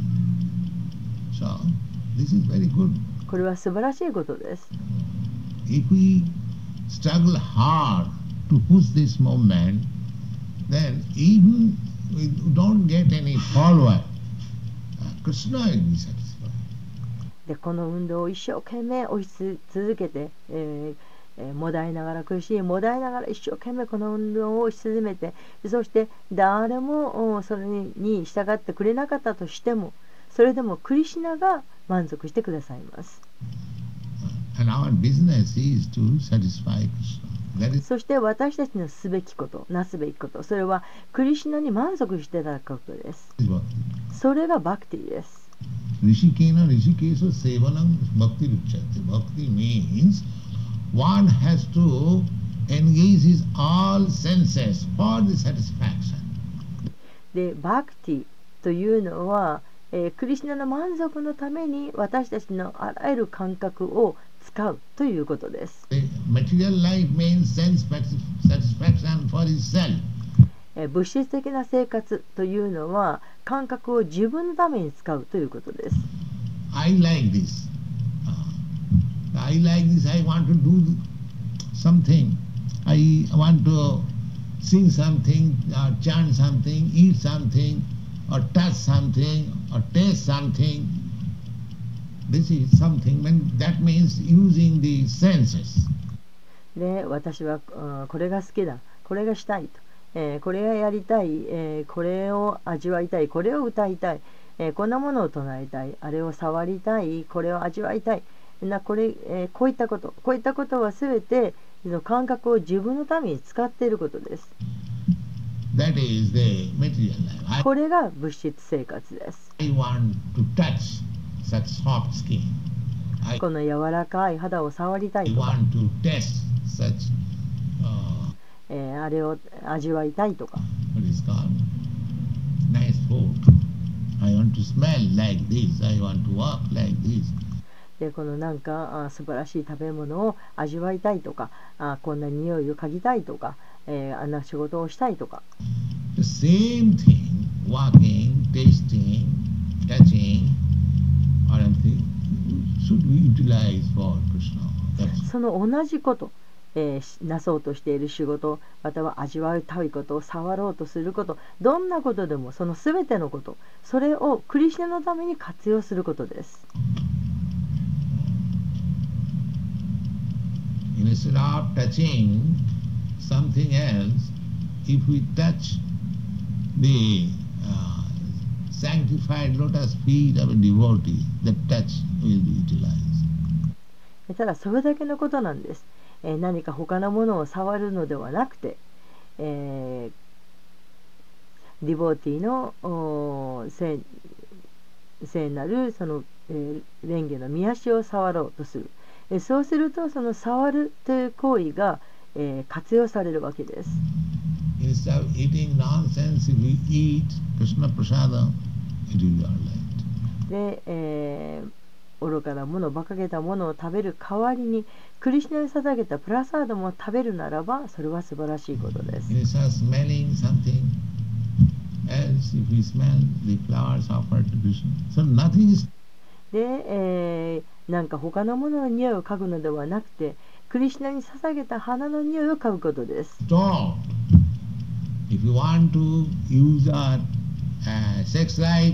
S2: So, this is very good.
S1: これは素晴らしいことです。
S2: If we struggle hard to push this movement, then even we don't get any follower, Krishna will be satisfied.
S1: でこの運動を一生懸命押し続けて、もだいながら苦しいもだいながら一生懸命この運動を押し進めて、そして誰もそれに従ってくれなかったとしても、それでもクリシュナが満足してくださいます。
S2: And our business is to satisfy Krishna.
S1: そして私たちのすべきこと、なすべきこと、それはクリシュナに満足していただくことです。それがバクティです。
S2: Rishikena Rishikesha Sevanam Bhakti Ruchyate. Bhakti means one has to engage his all senses for the satisfaction.
S1: で、バクティというのは、クリシュナの満足のために私たちのあらゆる感覚を使うということです。
S2: Material life means sense satisfaction for itself.
S1: 物質的な生活というのは感覚を自分のために使うということです。
S2: I like this. I like this. I want to do something. I want to sing something, or chant something, eat something, or touch something, or taste something. This is something, that means using the senses.
S1: で、私はこれが好きだ、これがしたいと、これがやりたい、これを味わいたい、これを歌いたい、こんなものを唱えたい、あれを触りたい、これを味わいたい、こういったことはすべて感覚を自分のために使っていることです。
S2: That is the material life.
S1: これが物質生活です。
S2: I want to touch such soft skin.
S1: この柔らかい肌を触りたいとか、
S2: I want to taste such,
S1: あれを味わいたいとか、
S2: what is called nice food. I want to smell like this. I want to walk like this.
S1: でこのなんか素晴らしい食べ物を味わいたいとか、こんな匂いを嗅ぎたいとか、あんな仕事をしたいとか。
S2: The same thing, walking, tasting, touching, or anything, should be utilized for Krishna.
S1: その同じこと、なそうとしている仕事、または味わいたいこと、触ろうとすること、どんなことでもそのすべてのこと、それをクリシュナのために活用することです。
S2: Instead of touching something else, if we touch the sanctified lotus feet of a devotee, the touch will be utilized.
S1: ただそれだけのことなんです。何か他のものを触るのではなくて、ディボーティの聖なるその、蓮華の御足を触ろうとする。そうするとその触るという行為が、活用されるわけです。
S2: Instead of eating nonsense, if we eat Krishna Prasada, it will be all right.
S1: で、愚かなもの、馬鹿げたものを食べる代わりに、クリシュナに捧げたプラサードも食べるならば、それは素晴らしいことです。
S2: Instead of smelling something else, if we smell the flowers offered to Krishna, so nothing is.
S1: で、なんか他のものの匂いを嗅ぐのではなくて、クリシュナに捧げた花の匂いを嗅ぐことです。
S2: Stop. If you want to use our sex life,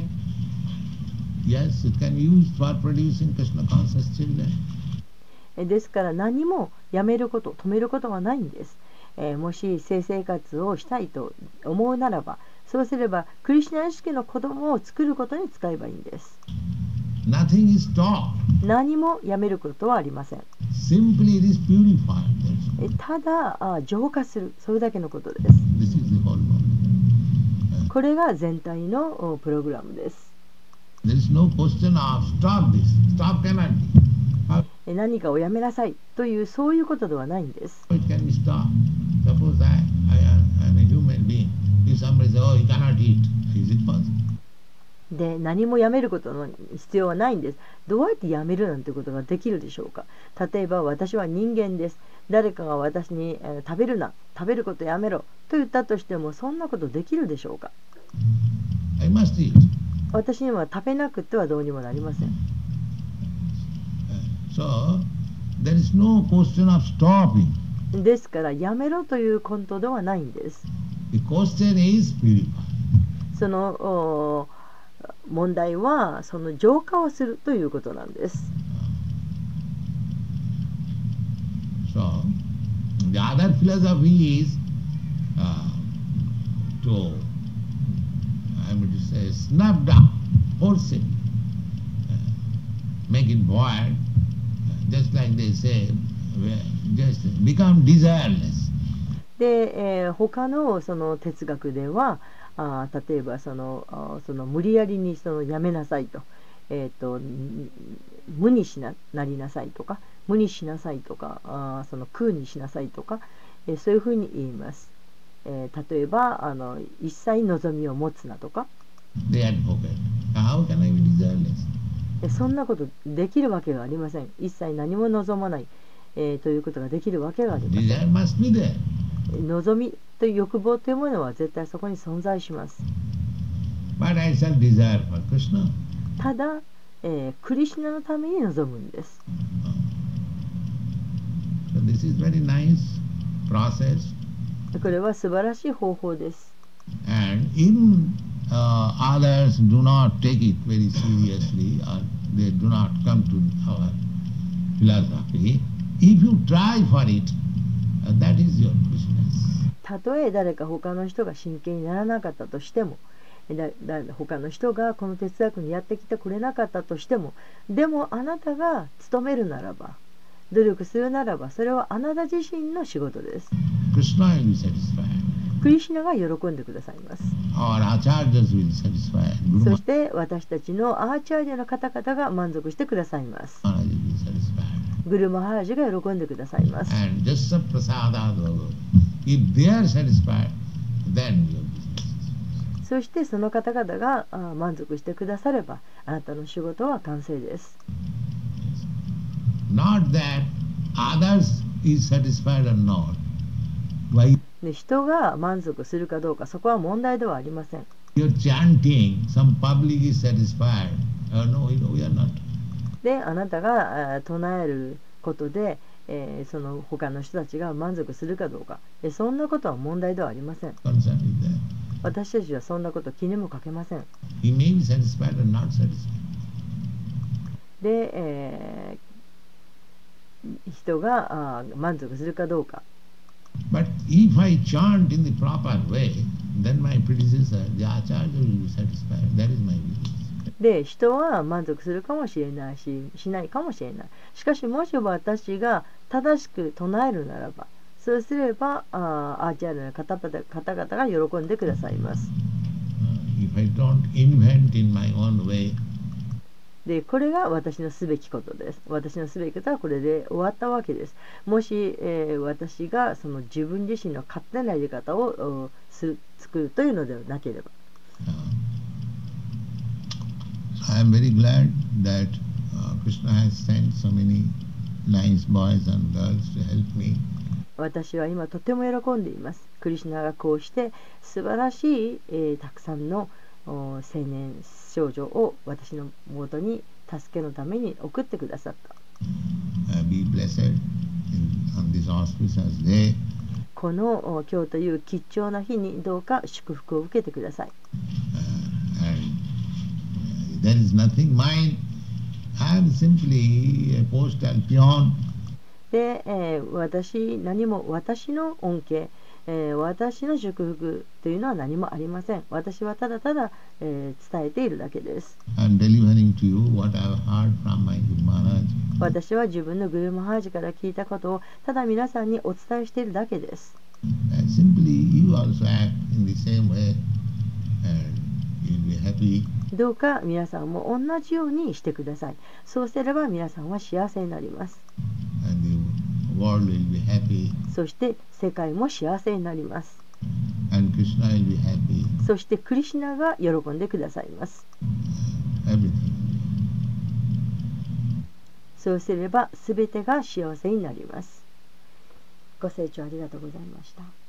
S2: yes, it can be used for producing Krishna conscious children.
S1: ですから何もやめること、止めることはないんです。もし性生活をしたいと思うならば、そうすればクリシュナ意識の子供を作ることに使えばいいんです。
S2: Nothing is stopped.
S1: 何もやめることはありません。
S2: Simply it is purified.
S1: ただ浄化する、それだけのことです。
S2: This is the whole problem.
S1: これが全体のプログラムです。
S2: There is no question of stop this. Stop cannot be.
S1: 何かをやめなさいというそういうことではないんです。
S2: It can be stopped. Suppose I am a human being. If somebody says, oh, you cannot eat, is it possible?
S1: で何もやめることの必要はないんです。どうやってやめるなんてことができるでしょうか。例えば私は人間です。誰かが私に、食べるな、食べることやめろと言ったとしてもそんなことできるでしょうか。
S2: I must eat.
S1: 私には食べなくてはどうにもなりません。
S2: So, there is no question of stopping.
S1: ですからやめろということではないんです。
S2: The question is purify.
S1: その問題はその浄化をするということなんです。
S2: So, the other philosophy is to, I would say, snap down, force it, make it void, just like they say, just become desireless.
S1: で、他のその哲学では例えばその無理やりにやめなさいと、無になりなさいとか無にしなさいとか空にしなさいとか、そういうふうに言います。例えば一切望みを持つなとか。
S2: How can I be desireless?
S1: そんなことできるわけがありません。一切何も望まない、ということができるわけがありません。
S2: Desire must be there.
S1: 望みという欲望というものは絶対そこに存在します。
S2: But I shall desire for Krishna.
S1: ただ、クリシュナのために望むんです。
S2: So this is very nice process
S1: これは素晴らしい方法です。
S2: And even others do not take it very seriously, or they do not come to our philosophy. If you try for it, that is your business.
S1: たとえ誰か他の人が真剣にならなかったとしても、他の人がこの哲学にやってきてくれなかったとしても、でもあなたが努めるならば、努力するならば、それはあなた自身の仕事です。
S2: Krishna will be satisfied.
S1: クリシュナが喜んでくださいます。
S2: Our acharyas will be satisfied.
S1: そ
S2: Guru
S1: して私たちのアーチャージャの方々が満足してくださいます。
S2: Maharaj will be satisfied.
S1: グルマハラジが喜んでくださいます。
S2: And Jassa Prasada Bhava. If they are satisfied, then your business is.
S1: そしてその方々が満足してくだされば、あなたの仕事は完成です。
S2: Not that others is satisfied or not. Why
S1: で、人が満足するかどうか、そこは問題ではありません。
S2: you're chanting, some public is satisfied. No, we are not.
S1: で、あなたが唱えることで、その他の人たちが満足するかどうか、そんなことは問題ではありません。
S2: Concerned with that.
S1: 私たちはそんなこと気にもかけません。
S2: He may be satisfied or not satisfied.
S1: で、人が満足するかどうか。
S2: But if I chant in the proper way, then my predecessor, the Acharya, will be satisfied. That is my belief.
S1: で、人は満足するかもしれないし、しないかもしれない。しかし、もし私が正しく唱えるならば、そうすれば、アーチャーの方々が喜んでくださいます。
S2: If I don't invent in my own way,
S1: で、これが私のすべきことです。私のすべきことはこれで終わったわけです。もし、私がその自分自身の勝手なやり方を作るというのではなければ。
S2: I am very glad that Krishna has sent so many nice boys and girls to help me.
S1: 私は今とても喜んでいます。クリシュナがこうして素晴らしい、たくさんの青年少女を私のもとに助けのために送ってくださった。
S2: Be blessed on this auspicious day.
S1: この今日という吉祥な日にどうか祝福を受けてください。
S2: There is nothing mine. I am simply a postal peon.
S1: で、何も私の恩恵、私の祝福というのは何もありません。私はただただ、伝えているだけです。
S2: I'm delivering to you what I have heard from my Guru Maharaj.
S1: 私は自分のグルマハラジから聞いたことをただ皆さんにお伝えしているだけです。
S2: And simply you also act in the same way and you'll be happy.
S1: どうか皆さんも同じようにしてください。そうすれば皆さんは幸せになります。
S2: And the world will be happy.
S1: そして世界も幸せになります。
S2: And Krishna will be happy.
S1: そしてクリシュナが喜んでくださいます。
S2: Everything.
S1: そうすれば全てが幸せになります。ご清聴ありがとうございました。